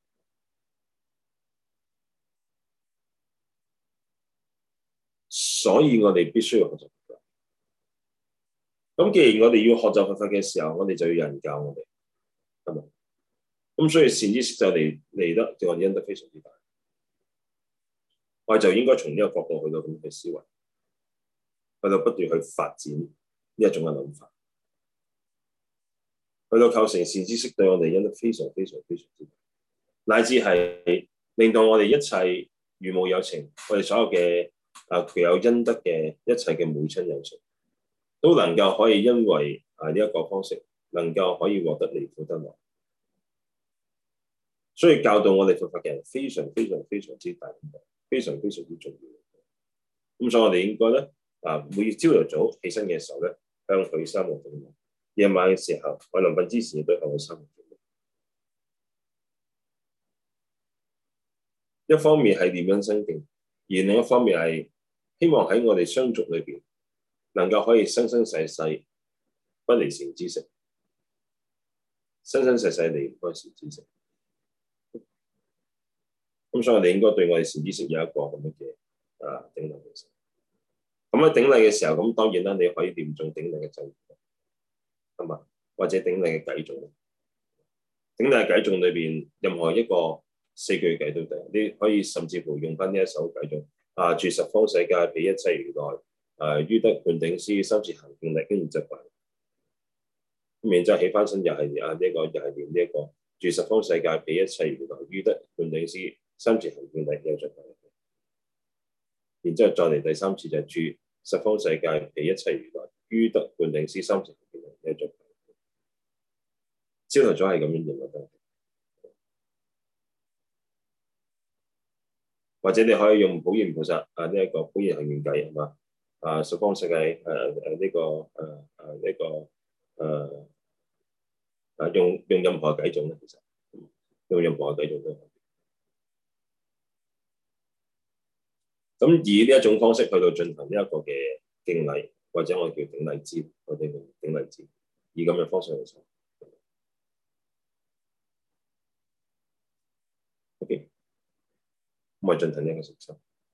所以我哋必須要學習佛法。咁既然我哋要學習佛法嘅時候，我哋就要有人教我哋，係咪？咁所以善知識就嚟得對我哋恩德非常之大。我哋就應該從呢個角度去到咁去思維，去到不斷去發展呢一種嘅諗法，去到構成善知識對我哋恩德非常非常非常之大，乃至係令到我哋一切如母有情，我哋所有嘅具有恩德嘅一切嘅母親有情，都能夠可以因為呢一個方式，能夠可以獲得離苦得樂。所以教導我哋佛法嘅人非常非常非常之大，非常非常之重要。咁所以我哋應該咧每朝頭早起身嘅時候咧，向佢三個敬禮；夜晚嘅時候，我臨瞓之前亦都向佢三個敬禮。一方面係念恩生敬，而另一方面係希望喺我哋相續裏邊能夠可以生生世世不離善知識，生生世世離唔開善知識。咁所以我哋應該對我哋善知識有一個咁樣嘅頂禮嘅時候。咁喺頂禮嘅時候，咁當然啦，你可以念誦頂禮嘅咒語，係嘛？或者頂禮嘅偈頌。頂禮偈頌裏邊任何一個4句偈都得，你可以甚至乎用翻呢一首偈頌住十方世界彼一切如來於得灌頂施三次行敬禮，跟住就拜。咁然之後起翻身又係呢一個，又係念呢一個住十方世界彼一切如來於得灌頂施三次行敬禮，又再拜。然之後再嚟第三次就係住十方世界彼一切如來於得灌頂施三次行敬禮，又再拜。朝頭早係咁樣念得，或者你可以用普賢菩薩呢一個普賢行願偈，係嘛？十方世界用任何偈頌咧，其實用任何偈頌都可以。咁以呢一種方式去到進行呢一個嘅敬禮，或者我哋叫頂禮支，我哋叫頂禮支，以咁嘅方式去做。OK， 咁我進行呢一個實修，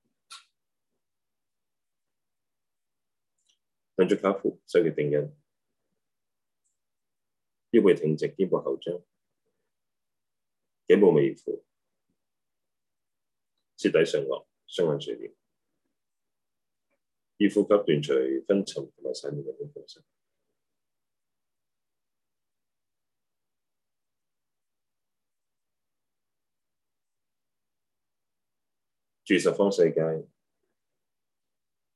兩足跏趺，手結定印，腰背挺直，肩部後張，頸部微俯，舌抵上顎，雙眼垂簾，以呼吸斷除昏沉同埋散亂嘅過程。住十方世界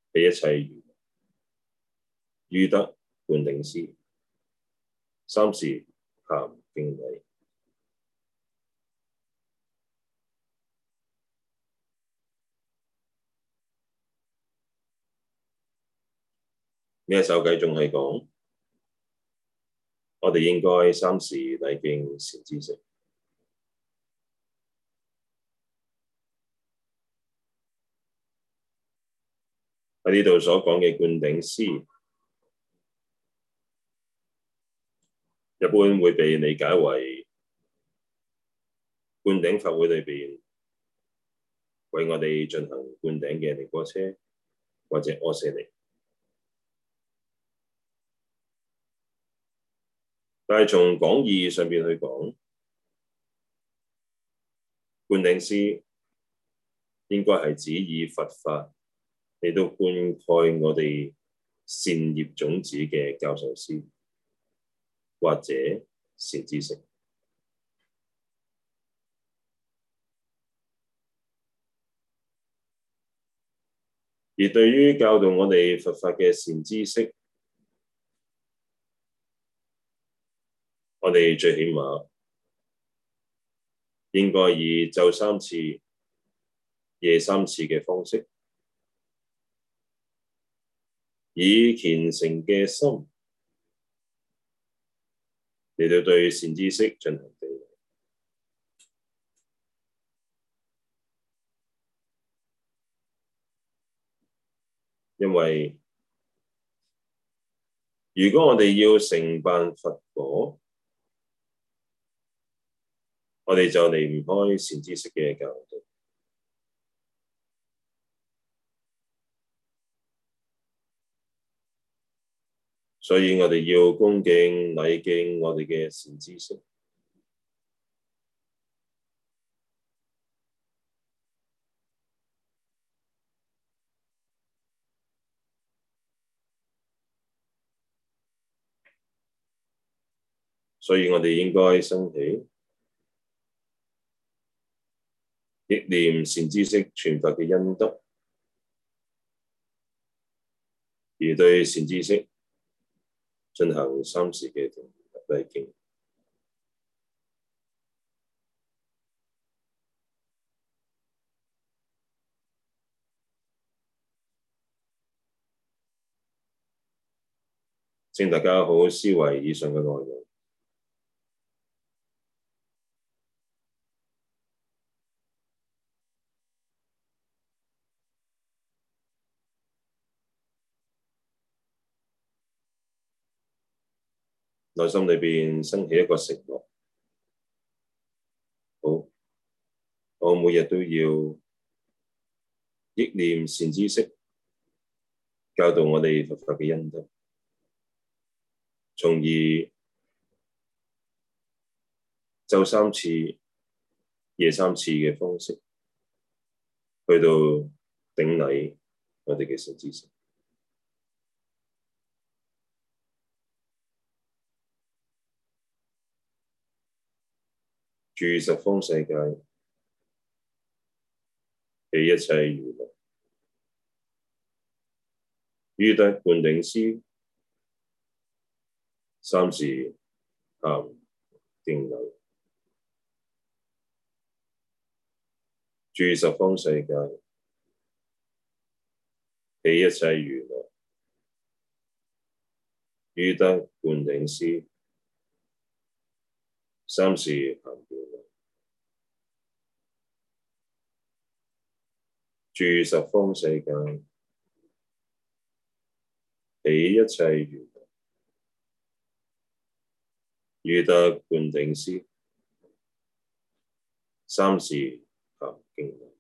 彼一切娛樂，於得灌頂師，三時咸敬禮。呢一首偈仲係講，我哋應該三時禮敬善知識。喺呢度所講嘅灌頂師，一般會被理解為灌頂法會裏邊為我哋進行灌頂嘅仁波切或者阿闍黎。但係從廣義上邊去講，灌頂師應該係指以佛法嚟到灌溉我哋善業種子嘅教授師或者善知識。而對於教導我哋佛法嘅善知識，我哋最起碼應該以晝三次、夜三次嘅方式，以虔誠嘅心嚟到對善知識進行頂禮。因為如果我哋要成辦佛果，我哋就離唔開善知識嘅教導，所以我哋要恭敬禮敬我哋嘅善知識。所以我哋應該生起憶念善知識傳法嘅恩德，而對善知識進行三時嘅禮敬。請大家好好思維以上嘅內容。內心裏邊升起一個承諾，好，我每日都要憶念善知識教導我哋佛法嘅恩德，從而晝三次、夜三次嘅方式去到頂禮我哋嘅善知識。住十方世界，彼一切娛樂，於得灌頂師，三時咸敬禮。住十方世界，彼一切娛樂，於得灌頂師，三時咸敬禮。住十方世界，彼一切娛樂，於得灌頂師，三時咸敬禮。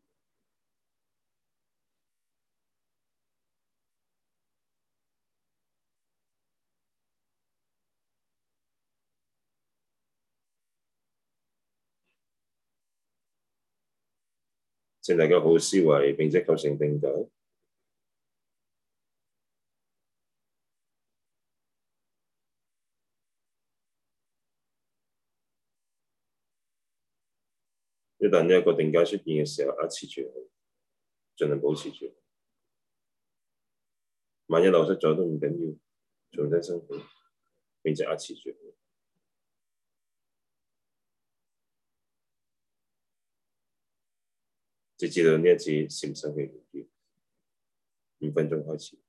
請大家好好思維，並且構成定解。一旦呢一個定解出現嘅時候，壓持住佢，盡量保持住。 萬一流失咗都唔緊要，重新生起，並且壓持住，直至到呢一次禪修嘅完結。5分鐘開始。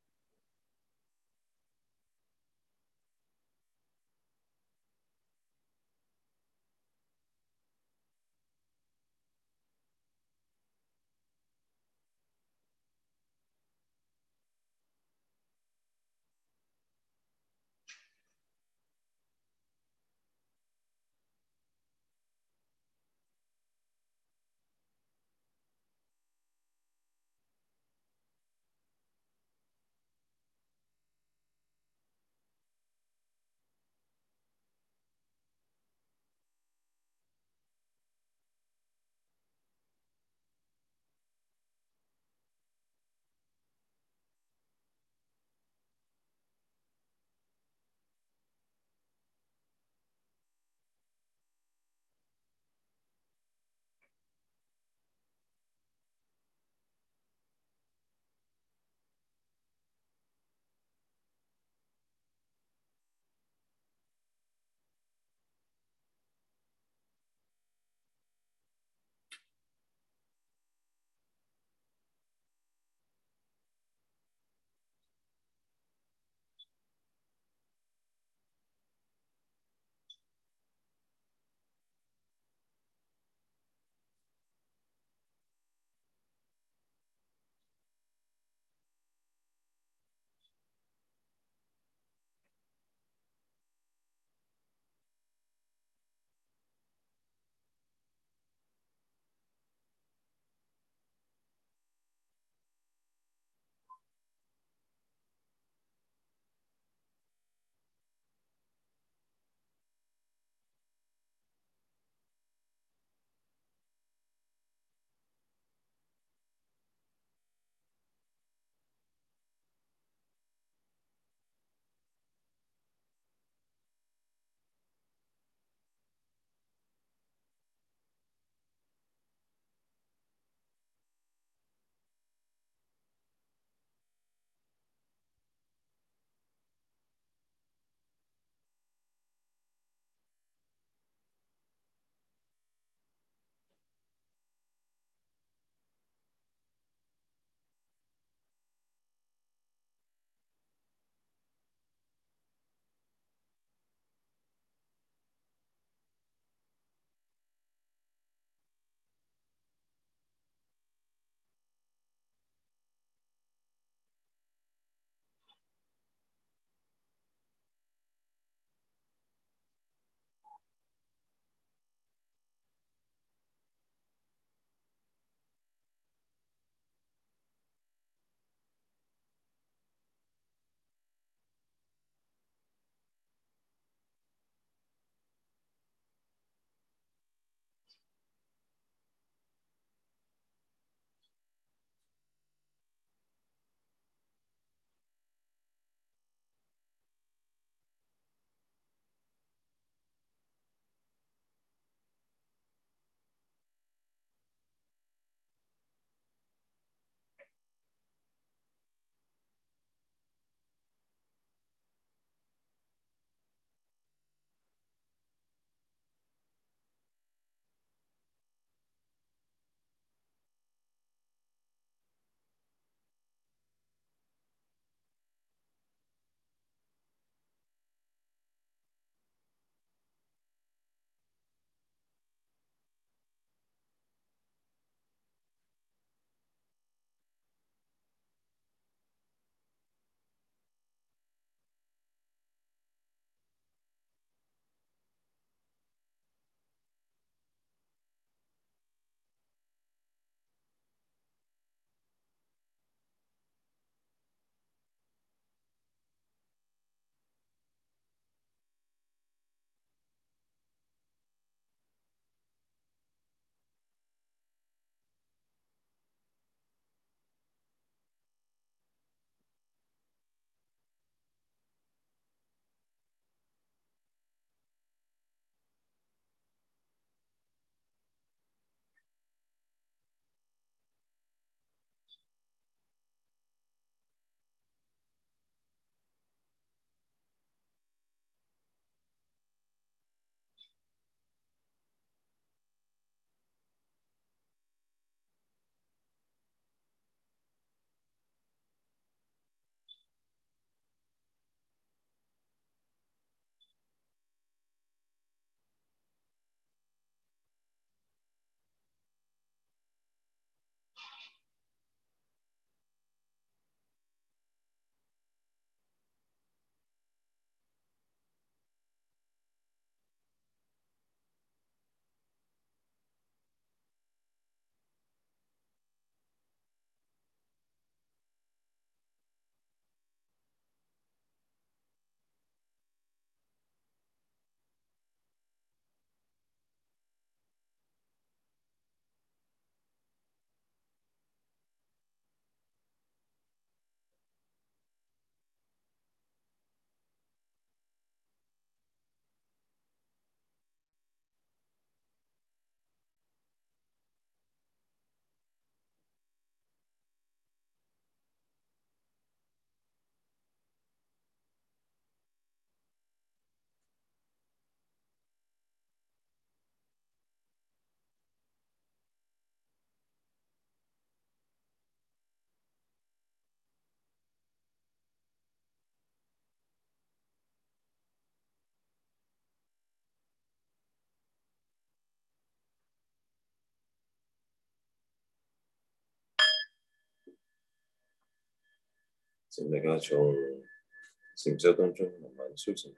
請大家從禪修當中慢慢甦醒。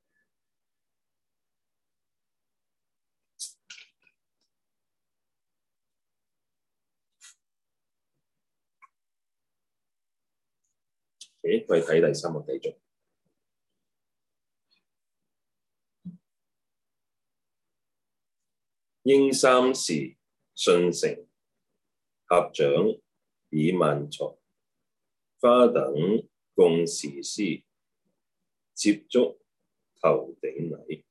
我哋睇第三個繼續。應三時訊成，合掌以曼荼，花等共時施，接觸頭頂禮。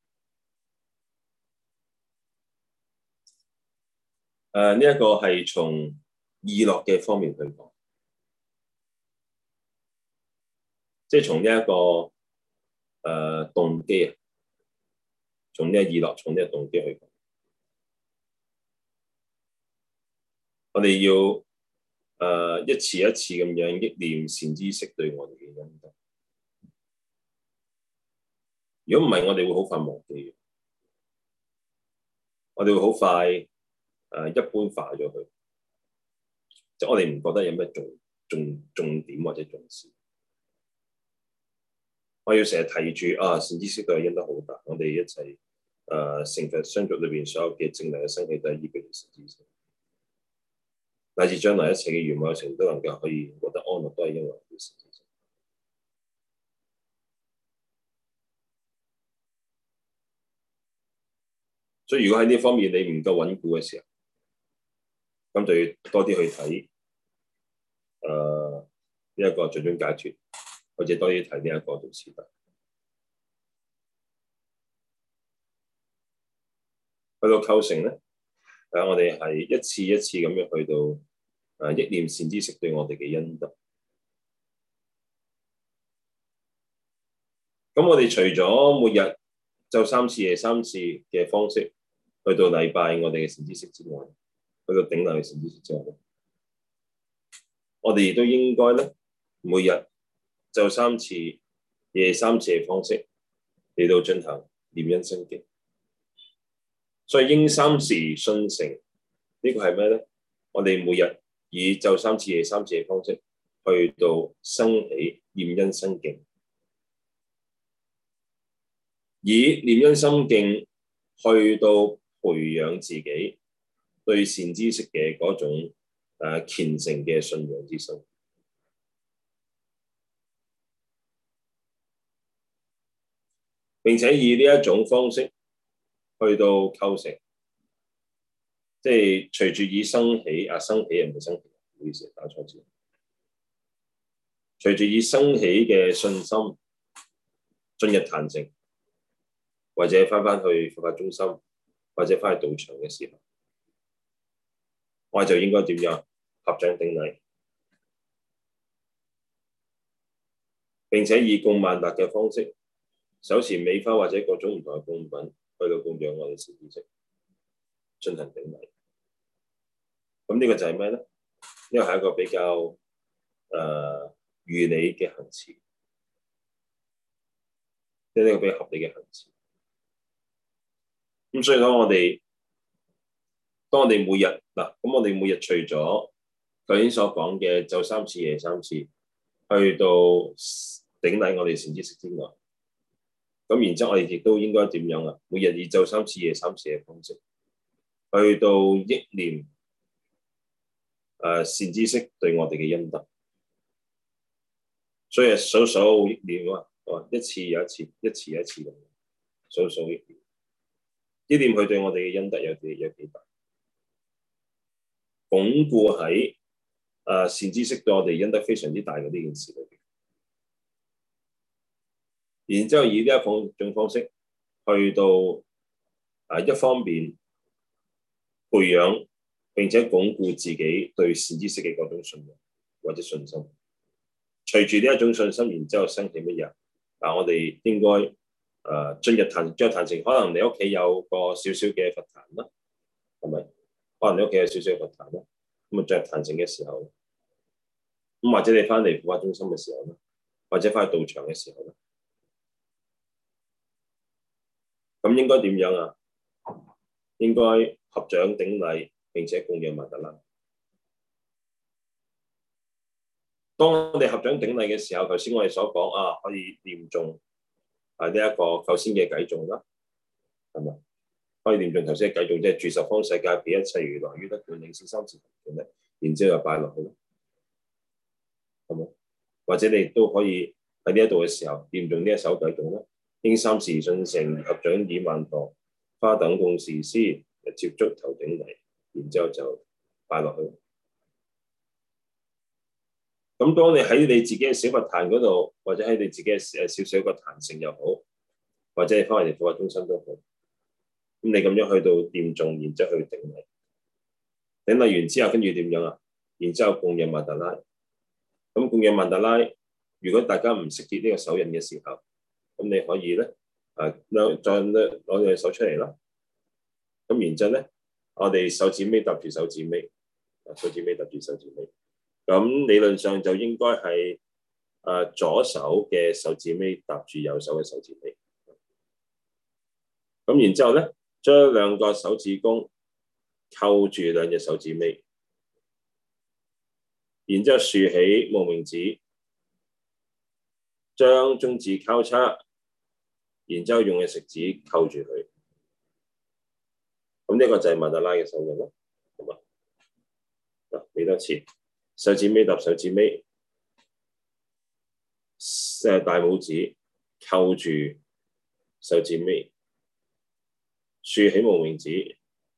呢一個係從意樂嘅方面去講，即係從呢一個動機啊，從呢個意樂，從呢個動機去講。我哋要一次一次咁樣憶念善知識對我哋嘅恩德。如果唔係，我哋會好快忘記嘅。我哋會好快一般化咗佢，即係我哋唔覺得有咩重點或者重視。我要成日提住善知識對我恩德好大，我哋一齊成佛相續裏邊所有嘅正能嘅生起都係依據善知識。乃至將來一切嘅圓滿有情都能夠可以獲得安樂，都係因為善知識。所以如果喺呢方面你唔夠穩固嘅時候，咁就要多啲去睇呢一個最終解脫，或者多啲睇呢一個道次第。去到構成咧，我哋係一次一次咁樣去到憶念善知識對我哋嘅恩德。咁我哋除咗每日晝三次夜三次嘅方式去到禮拜我哋嘅善知識之外，去到頂禮嘅善知識之外，我哋亦都應該咧每日晝三次夜三次嘅方式嚟到進行念恩生敬。所以應三時訊成呢個係咩咧？我哋每日以晝三次夜三次嘅方式去到生起念恩生敬，以念恩生敬去到培養自己對善知識嘅嗰種虔誠嘅信仰之心，並且以呢一種方式去到構成，即係隨住以生起生起唔係生起，唔好意思打錯字。隨住以生起嘅信心進入壇城，或者翻去佛法中心，或者翻去道場嘅時候，我哋就應該點樣合掌頂禮，並且以供曼達嘅方式，手持美花或者各種唔同嘅供品去到供養我哋善知識，進行頂禮。咁呢個就係咩咧？呢個係一個比較如理嘅行持，即係呢個比較合理嘅行持。咁所以講，當我哋每日咁我哋每日除咗頭先所講嘅晝三次夜三次，去到頂禮我哋善知識之外，咁然之後我哋亦都應該點樣啊？每日以晝三次夜三次嘅方式，去到憶念善知識對我哋嘅恩德。所以數數憶念啊，一次又一次，一次又一次咁數數憶念，憶念佢對我哋嘅恩德有幾大，鞏固喺善知識對我哋恩德非常之大嘅呢件事裏邊。然之後以呢一種方式去到一方面培養並且鞏固自己對善知識嘅嗰種信任或者信心。隨住呢一種信心，然之後生起乜嘢？我哋應該進入壇城，可能你屋企有個少少嘅佛壇啦，係咪？可能你屋企有少少嘅佛壇啦，咁進入壇城嘅時候，咁或者你翻嚟佛法中心嘅時候咧，或者翻去道場嘅時候咧，咁應該點樣啊？應該合掌頂禮並且供養曼達啦。 當我哋合掌頂禮嘅時候，頭先我哋所講可以念誦呢一個頭先嘅偈頌啦，係咪？可以念誦頭先嘅偈頌，即係住十方世界，彼一切如來於得觀，領受三次同咧，然之後就拜落去咯，係咪？或者你都可以喺呢一度嘅時候念誦呢一首偈頌啦。應三時信成，合掌已萬陀，花等共時施，接足頭頂禮，然之後就拜落去。咁當你喺你自己嘅小佛壇嗰度，或者喺你自己嘅少少個壇城又好，或者你翻嚟佛法中心都好，咁你咁樣去到念誦，然之後去頂禮，頂禮完之後跟住點樣啊？然之後供養曼達拉。咁供養曼達拉，如果大家唔識結呢個手印嘅時候，咁你可以咧再攞隻手出嚟啦。咁然之後咧，我哋手指尾搭住手指尾，手指尾搭住手指尾。咁理論上就應該係左手嘅手指尾搭住右手嘅手指尾。咁然之後咧，將兩個手指公扣住兩隻手指尾，然之後豎起無名指，將中指交叉，然之後用嘅食指扣住佢。咁呢個就係曼達拉嘅手印咯，係嘛？嗱，俾多次。手指尾搭手指尾，大拇指扣住手指尾，豎起無名指，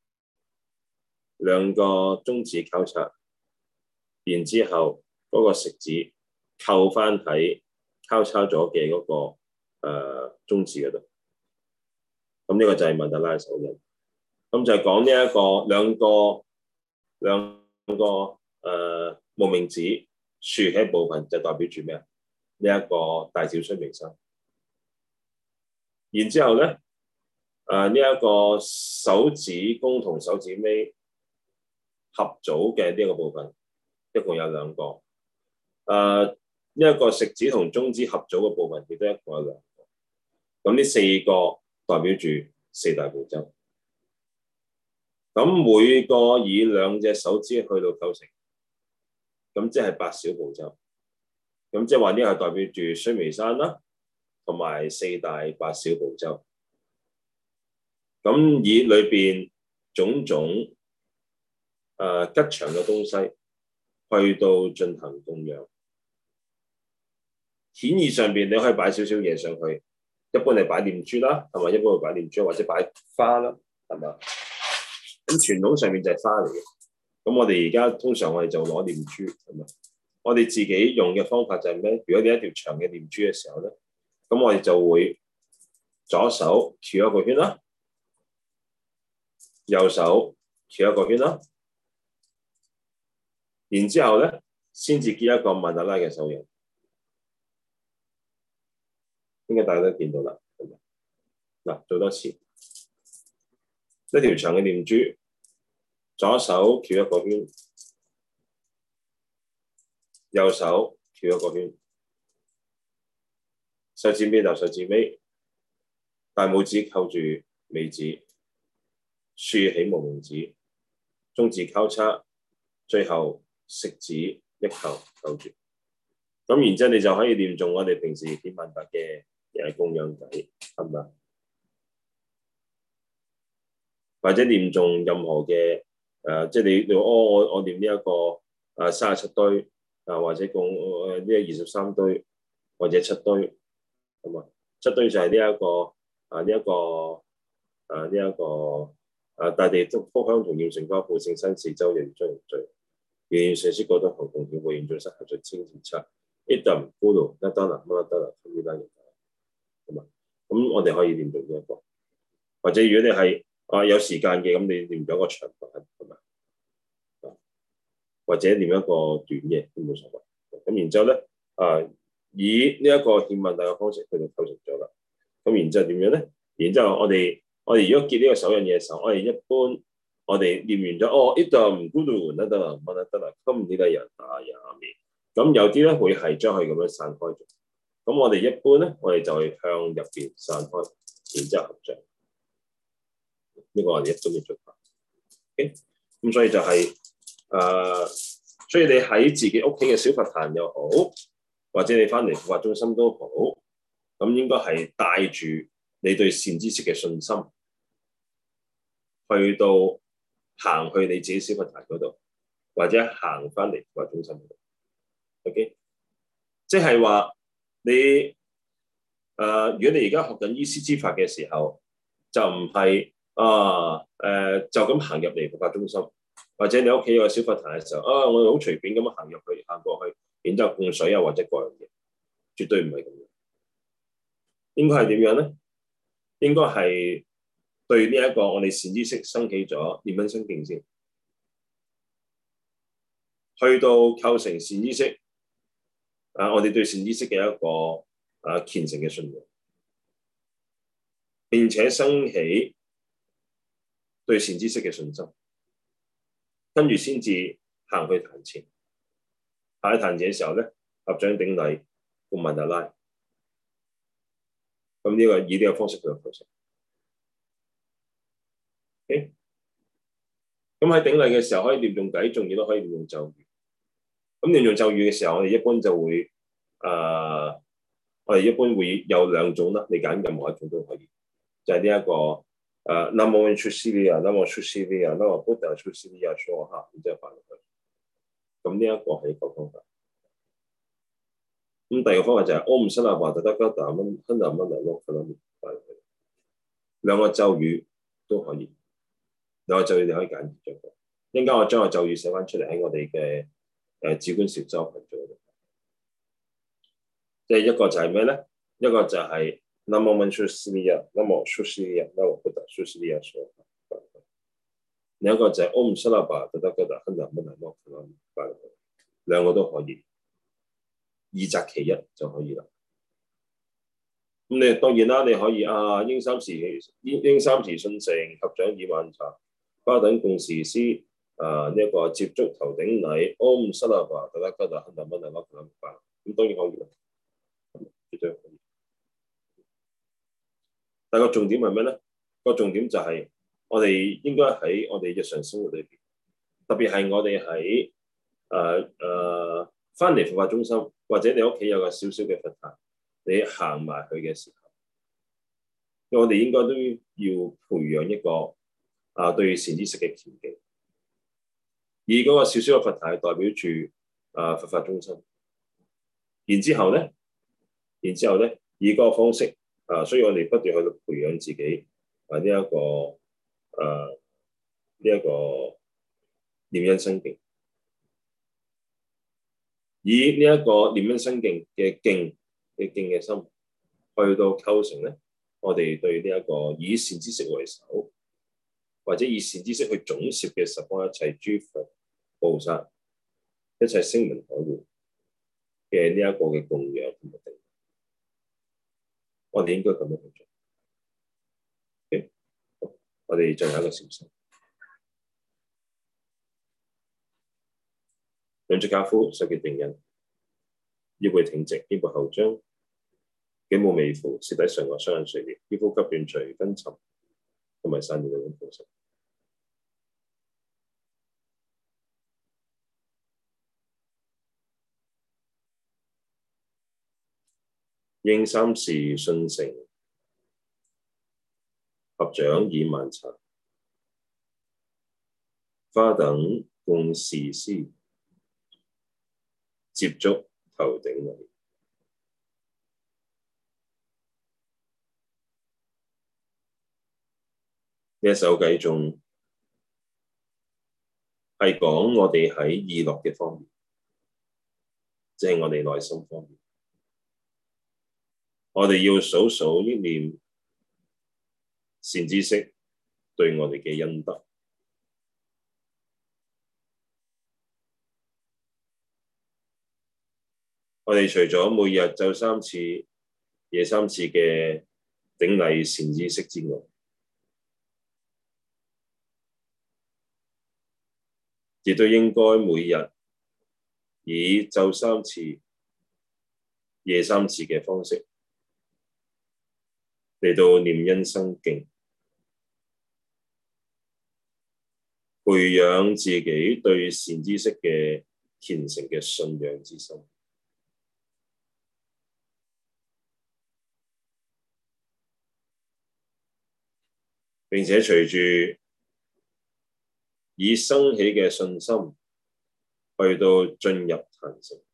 兩個中指交叉，然之後嗰個食指扣翻喺交叉咗嘅嗰個中指嗰度。咁呢個就係曼達拉手印。咁就係講呢一個兩個無名指豎起部分就代表住咩啊？呢一個大小須彌山。然之後咧，呢一個手指公同手指尾合組嘅呢一個部分，一共有兩個。呢一個食指同中指合組嘅部分亦都一共有兩個。咁呢四個代表住四大部洲。咁每個以兩隻手指去到構成。咁即係八小部洲，咁即係話呢個係代表住須彌山啦，同埋四大八小部洲。咁以裏邊種種吉祥嘅東西去到進行供養。顯義上邊你可以擺少少嘢上去，一般係擺念珠啦，係咪？一般會擺念珠或者擺花啦，係咪？咁傳統上面就係花嚟嘅。咁我哋而家通常我哋就攞念珠，係咪？我哋自己用嘅方法就係咩？如果你一條長嘅念珠嘅時候咧，咁我哋就會左手繞一個圈啦，右手繞一個圈啦，然之後咧先至結一個曼達拉嘅手印。應該大家都見到啦，係咪？嗱，做多次，一條長嘅念珠。左手繞一個圈，右手繞一個圈，手指尾搭手指尾，大拇指扣住尾指，豎起無名指，中指交叉，最後食指一扣扣住。咁然之後你就可以念誦我哋平時點曼達嘅供養偈，係咪？或者念誦任何嘅。即係你我念呢一個37堆或者共呢個23堆或者7堆，係嘛？7堆就係呢一個大地福香同耀成花布聖山四周人將人聚，願上師覺得行共顯，會現眾生合著清淨剎，一啖咕嚕一單啦乜啦得啦，咁呢單嘢係嘛？咁我哋可以念誦呢一個，或者如果你係有時間嘅，咁你念咗個長版係咪？或者念一個短嘅都冇所謂。咁然之後咧，以呢一個獻曼達嘅方式去到構成咗啦。咁然之後點樣咧？然之後我哋如果結呢個手印嘢嘅時候，我哋一般我哋念完咗一啖咕嚕得啦，乜得啦，今呢個人打也面。咁有啲咧會係將佢咁樣散開咗。咁我哋一般咧，我哋就係向入邊散開，然之後合掌。呢個我哋一般嘅做法。咁所以就係所以你喺自己屋企嘅小佛壇又好，或者你翻嚟佛法中心都好，咁應該係帶住你對善知識嘅信心，去到行去你自己小佛壇嗰度，或者行翻嚟佛法中心嗰度。OK， 即係話你如果你而家學緊依師之法嘅時候，就唔係就咁行入嚟佛法中心，或者你屋企有個小佛壇嘅時候，我哋好隨便咁行入去，行過去，然之後供水啊或者各樣嘢，絕對唔係咁樣。應該係點樣咧？應該係對呢一個我哋善知識生起咗念恩生敬先，去到構成善知識我哋對善知識嘅一個虔誠嘅信仰，並且生起對善知識嘅信心，跟住先至行去壇前。行去壇前嘅時候咧，合掌頂禮，供曼達拉。咁呢個以呢個方式去構成。OK， 咁喺頂禮嘅時候可以念誦偈，仲亦都可以念誦咒語。咁念誦咒語嘅時候，我哋一般就會我哋一般會有兩種啦，你揀任何一種都可以。就係呢一個Namo Vishwasriya Namo Vishwasriya Namo Buddha Vishwasriya Swaha，然之後翻落去。咁呢一個係一個方法。咁第二個方法就係 Om Sanaba Tathagata Hana Mana Lokana， 兩個咒語都可以，兩個咒語你可以揀咗個。一陣間我將個咒語寫翻出嚟喺我哋嘅止觀禪修群組度。即係一個就係咩咧？一個就係 Namo Vishwasriya Namo Vishwasriya Namo Buddha Vishwasriya Swaha。另一個就係 Om Sanaba Tathagata Hana Mana Lokana， 兩個都可以。二擇其一就可以啦。咁你當然啦，你可以應三時信成，合掌以晚茶，花等共時師呢一個接觸頭頂禮，Om Sanaba Tathagata Hana Mana Lokana。咁當然可以啦，絕對可以。但個重點係咩咧？個重點就係我哋應該喺我哋日常生活裏邊，特別係我哋喺翻嚟佛法中心，或者你屋企有個小小嘅佛壇，你行埋去嘅時候，我哋應該都要培養一個對善知識嘅虔敬。而嗰個小小嘅佛壇係代表住佛法中心。然之後咧，以嗰個方式所以我哋不斷去培養自己呢一個念恩生敬。以呢一個念恩生敬嘅敬嘅心，去到構成咧，我哋對呢一個以善知識為首，或者以善知識去總攝嘅十方一切諸佛菩薩、一切聲聞海會嘅呢一個嘅供養同埋定，我哋應該咁樣去做。Okay? 我哋進行一個禪修。兩隻跏趺，手結定印，腰背挺直，肩部後張，頸部微俯，舌抵上顎，雙眼垂簾，腰腹急斷除昏沉同埋散亂嘅種方式。應三時信成，合掌以晚茶，花等共時師，接觸頭頂禮。呢一首偈頌係講我哋喺意樂嘅方面，即係我哋內心方面，我哋要數數憶念善知識對我哋嘅恩德。我哋除咗每日晝3次、夜3次嘅頂禮善知識之外，亦都應該每日以晝3次、夜3次嘅方式嚟到念恩生敬，培養自己對善知識嘅虔誠嘅信仰之心，並且隨住已生起嘅信心，去到進入壇城，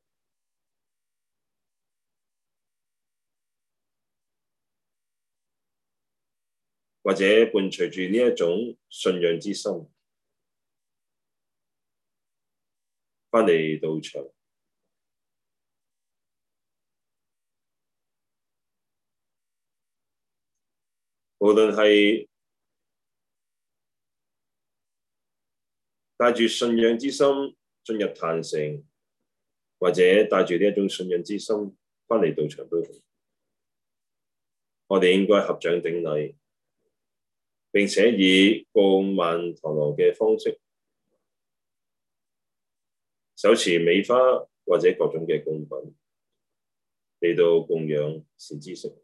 或者伴隨住呢一種信仰之心，返嚟道場，無論係帶住信仰之心進入壇城，或者帶住呢一種信仰之心返嚟道場都好，我哋應該合掌頂禮，並且以供曼陀羅嘅方式，手持美花或者各種嘅供品嚟到供養善知識。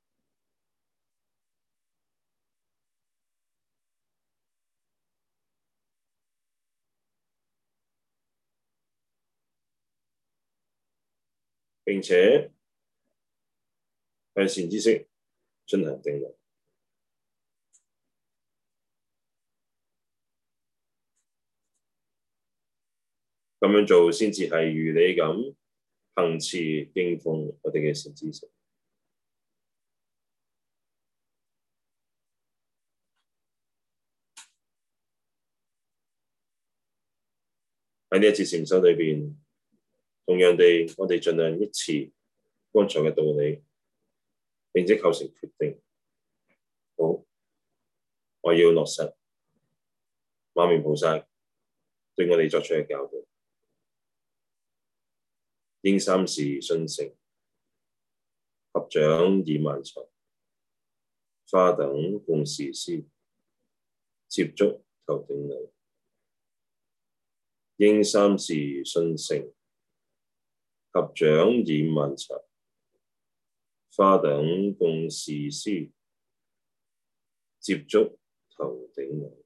並且向善知識進行頂禮，咁樣做先至係如理咁行持敬奉我哋嘅善知識。喺呢一次禪修裏邊，同樣地，我哋盡量憶持剛才嘅道理，並且構成決定。好，我要落實馬明菩薩對我哋作出嘅教導，應三時信誠，合掌以曼荼，花等供事師，接觸頭頂禮。應三時信誠，合掌以曼荼，花等供事師，接觸頭頂禮。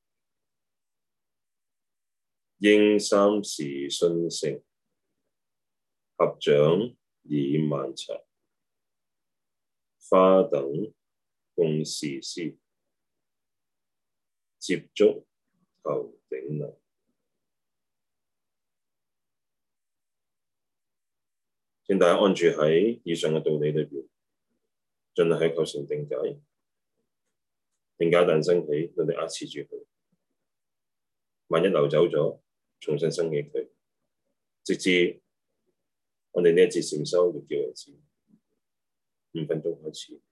應三時信誠，合掌以曼荼，花等供事師，接觸頭頂禮。請大家安住喺以上嘅道理裏邊，盡量去構成定解。定解一旦升起，我哋壓持住佢。萬一流走咗，重新生起佢，直至我哋呢一節禪修完結為止。5分鐘開始。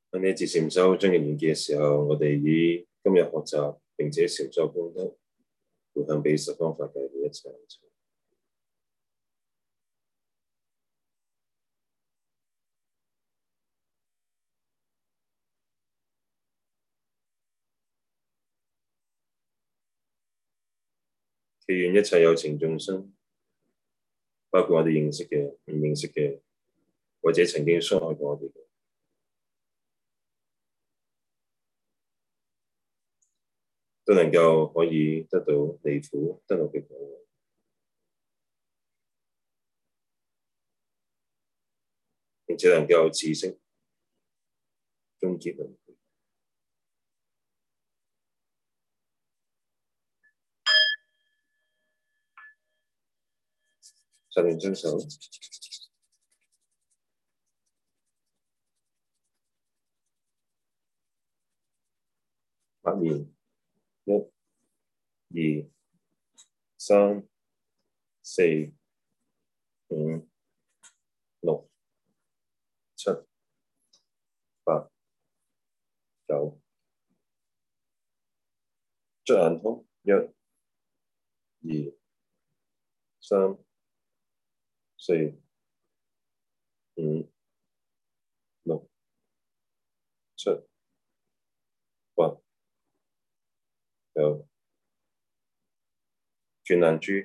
喺呢節禪修將要完結嘅時候，我哋以今日學習並且禪修功德，回向俾十方法界嘅一切有情。祈願一切有情眾生，包括我哋認識嘅、唔認識嘅，或者曾經傷害過我哋嘅，都能夠可以得到離苦得樂嘅果位，並且能夠止息終結輪迴。十念雙手，默念1、2、3、4、5、6、7、8、9，捽眼通1、2、3、4、5、6、7、8、9，轉眼珠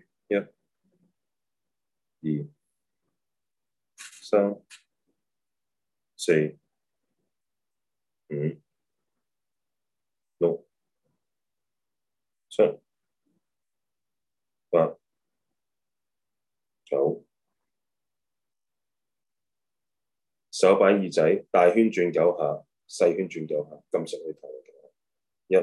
1、2、3、4、5、6、7、8、9，手擺耳仔，大圈轉9下，細圈轉9下，撳實去頭嘅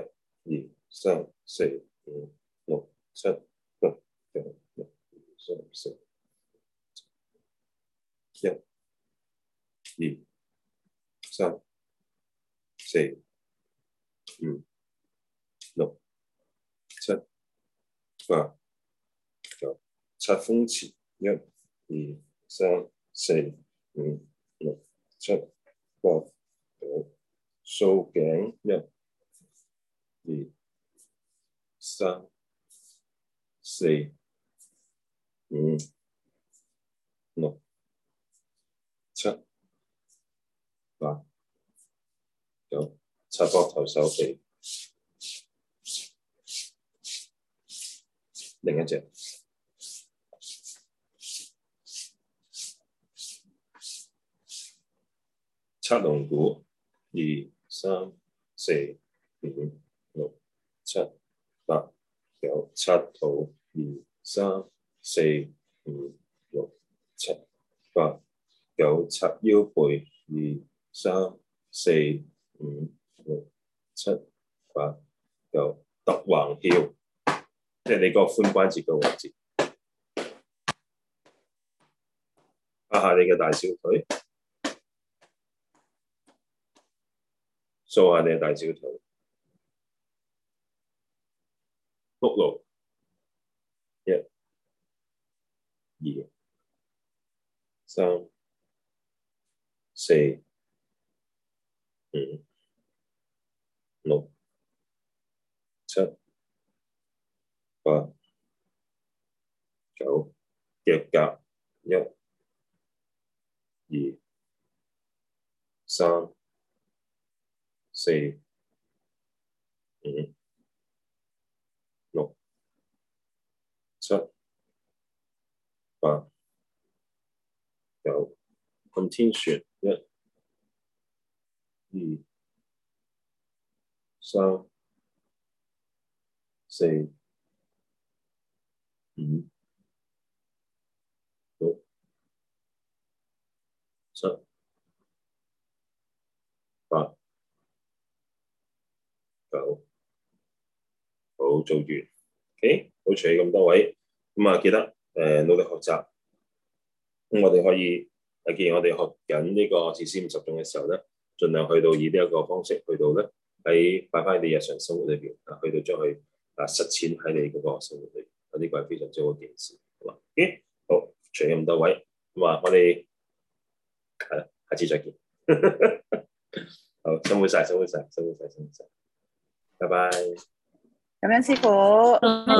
1、2、3、4、5、6、7、8、9、1、2、3、4、1、2、3、4、5、6、7、8、9，擦風池1、2、3、4、5、6、7、8、9，掃頸1、2、3、4、5、6、7、8、9，擦膊頭手臂，另一隻。擦龍骨2、3、4、5、6、7、8、9，擦肚2、3、4、5、6、7、8、9，擦腰背2、3、4、5、6、7、8、9，揼橫翹，即係你個髖關節嘅位置，拍下你嘅大小腿。掃下你嘅大小腿，腹部1、2、3、4、5、6、7、8、9，腳甲1、2、3、4、5、6、7、8、9，向天旋1、2、3、4、5、6、7、8、9，好，做完。OK， 好，除咁多位，咁啊記得努力學習。咁我哋可以既然我哋學緊呢個自私50種嘅時候咧，盡量去到以呢一個方式去到咧喺擺翻你日常生活裏邊啊，去到將佢實踐喺你嗰個生活裏邊，呢個係非常之好嘅件事，好嘛？OK，好，除咁多位，咁啊，我哋係啦，下次再見。 好，辛苦晒，辛苦晒，辛苦晒，辛苦晒，拜拜。 咁樣師傅。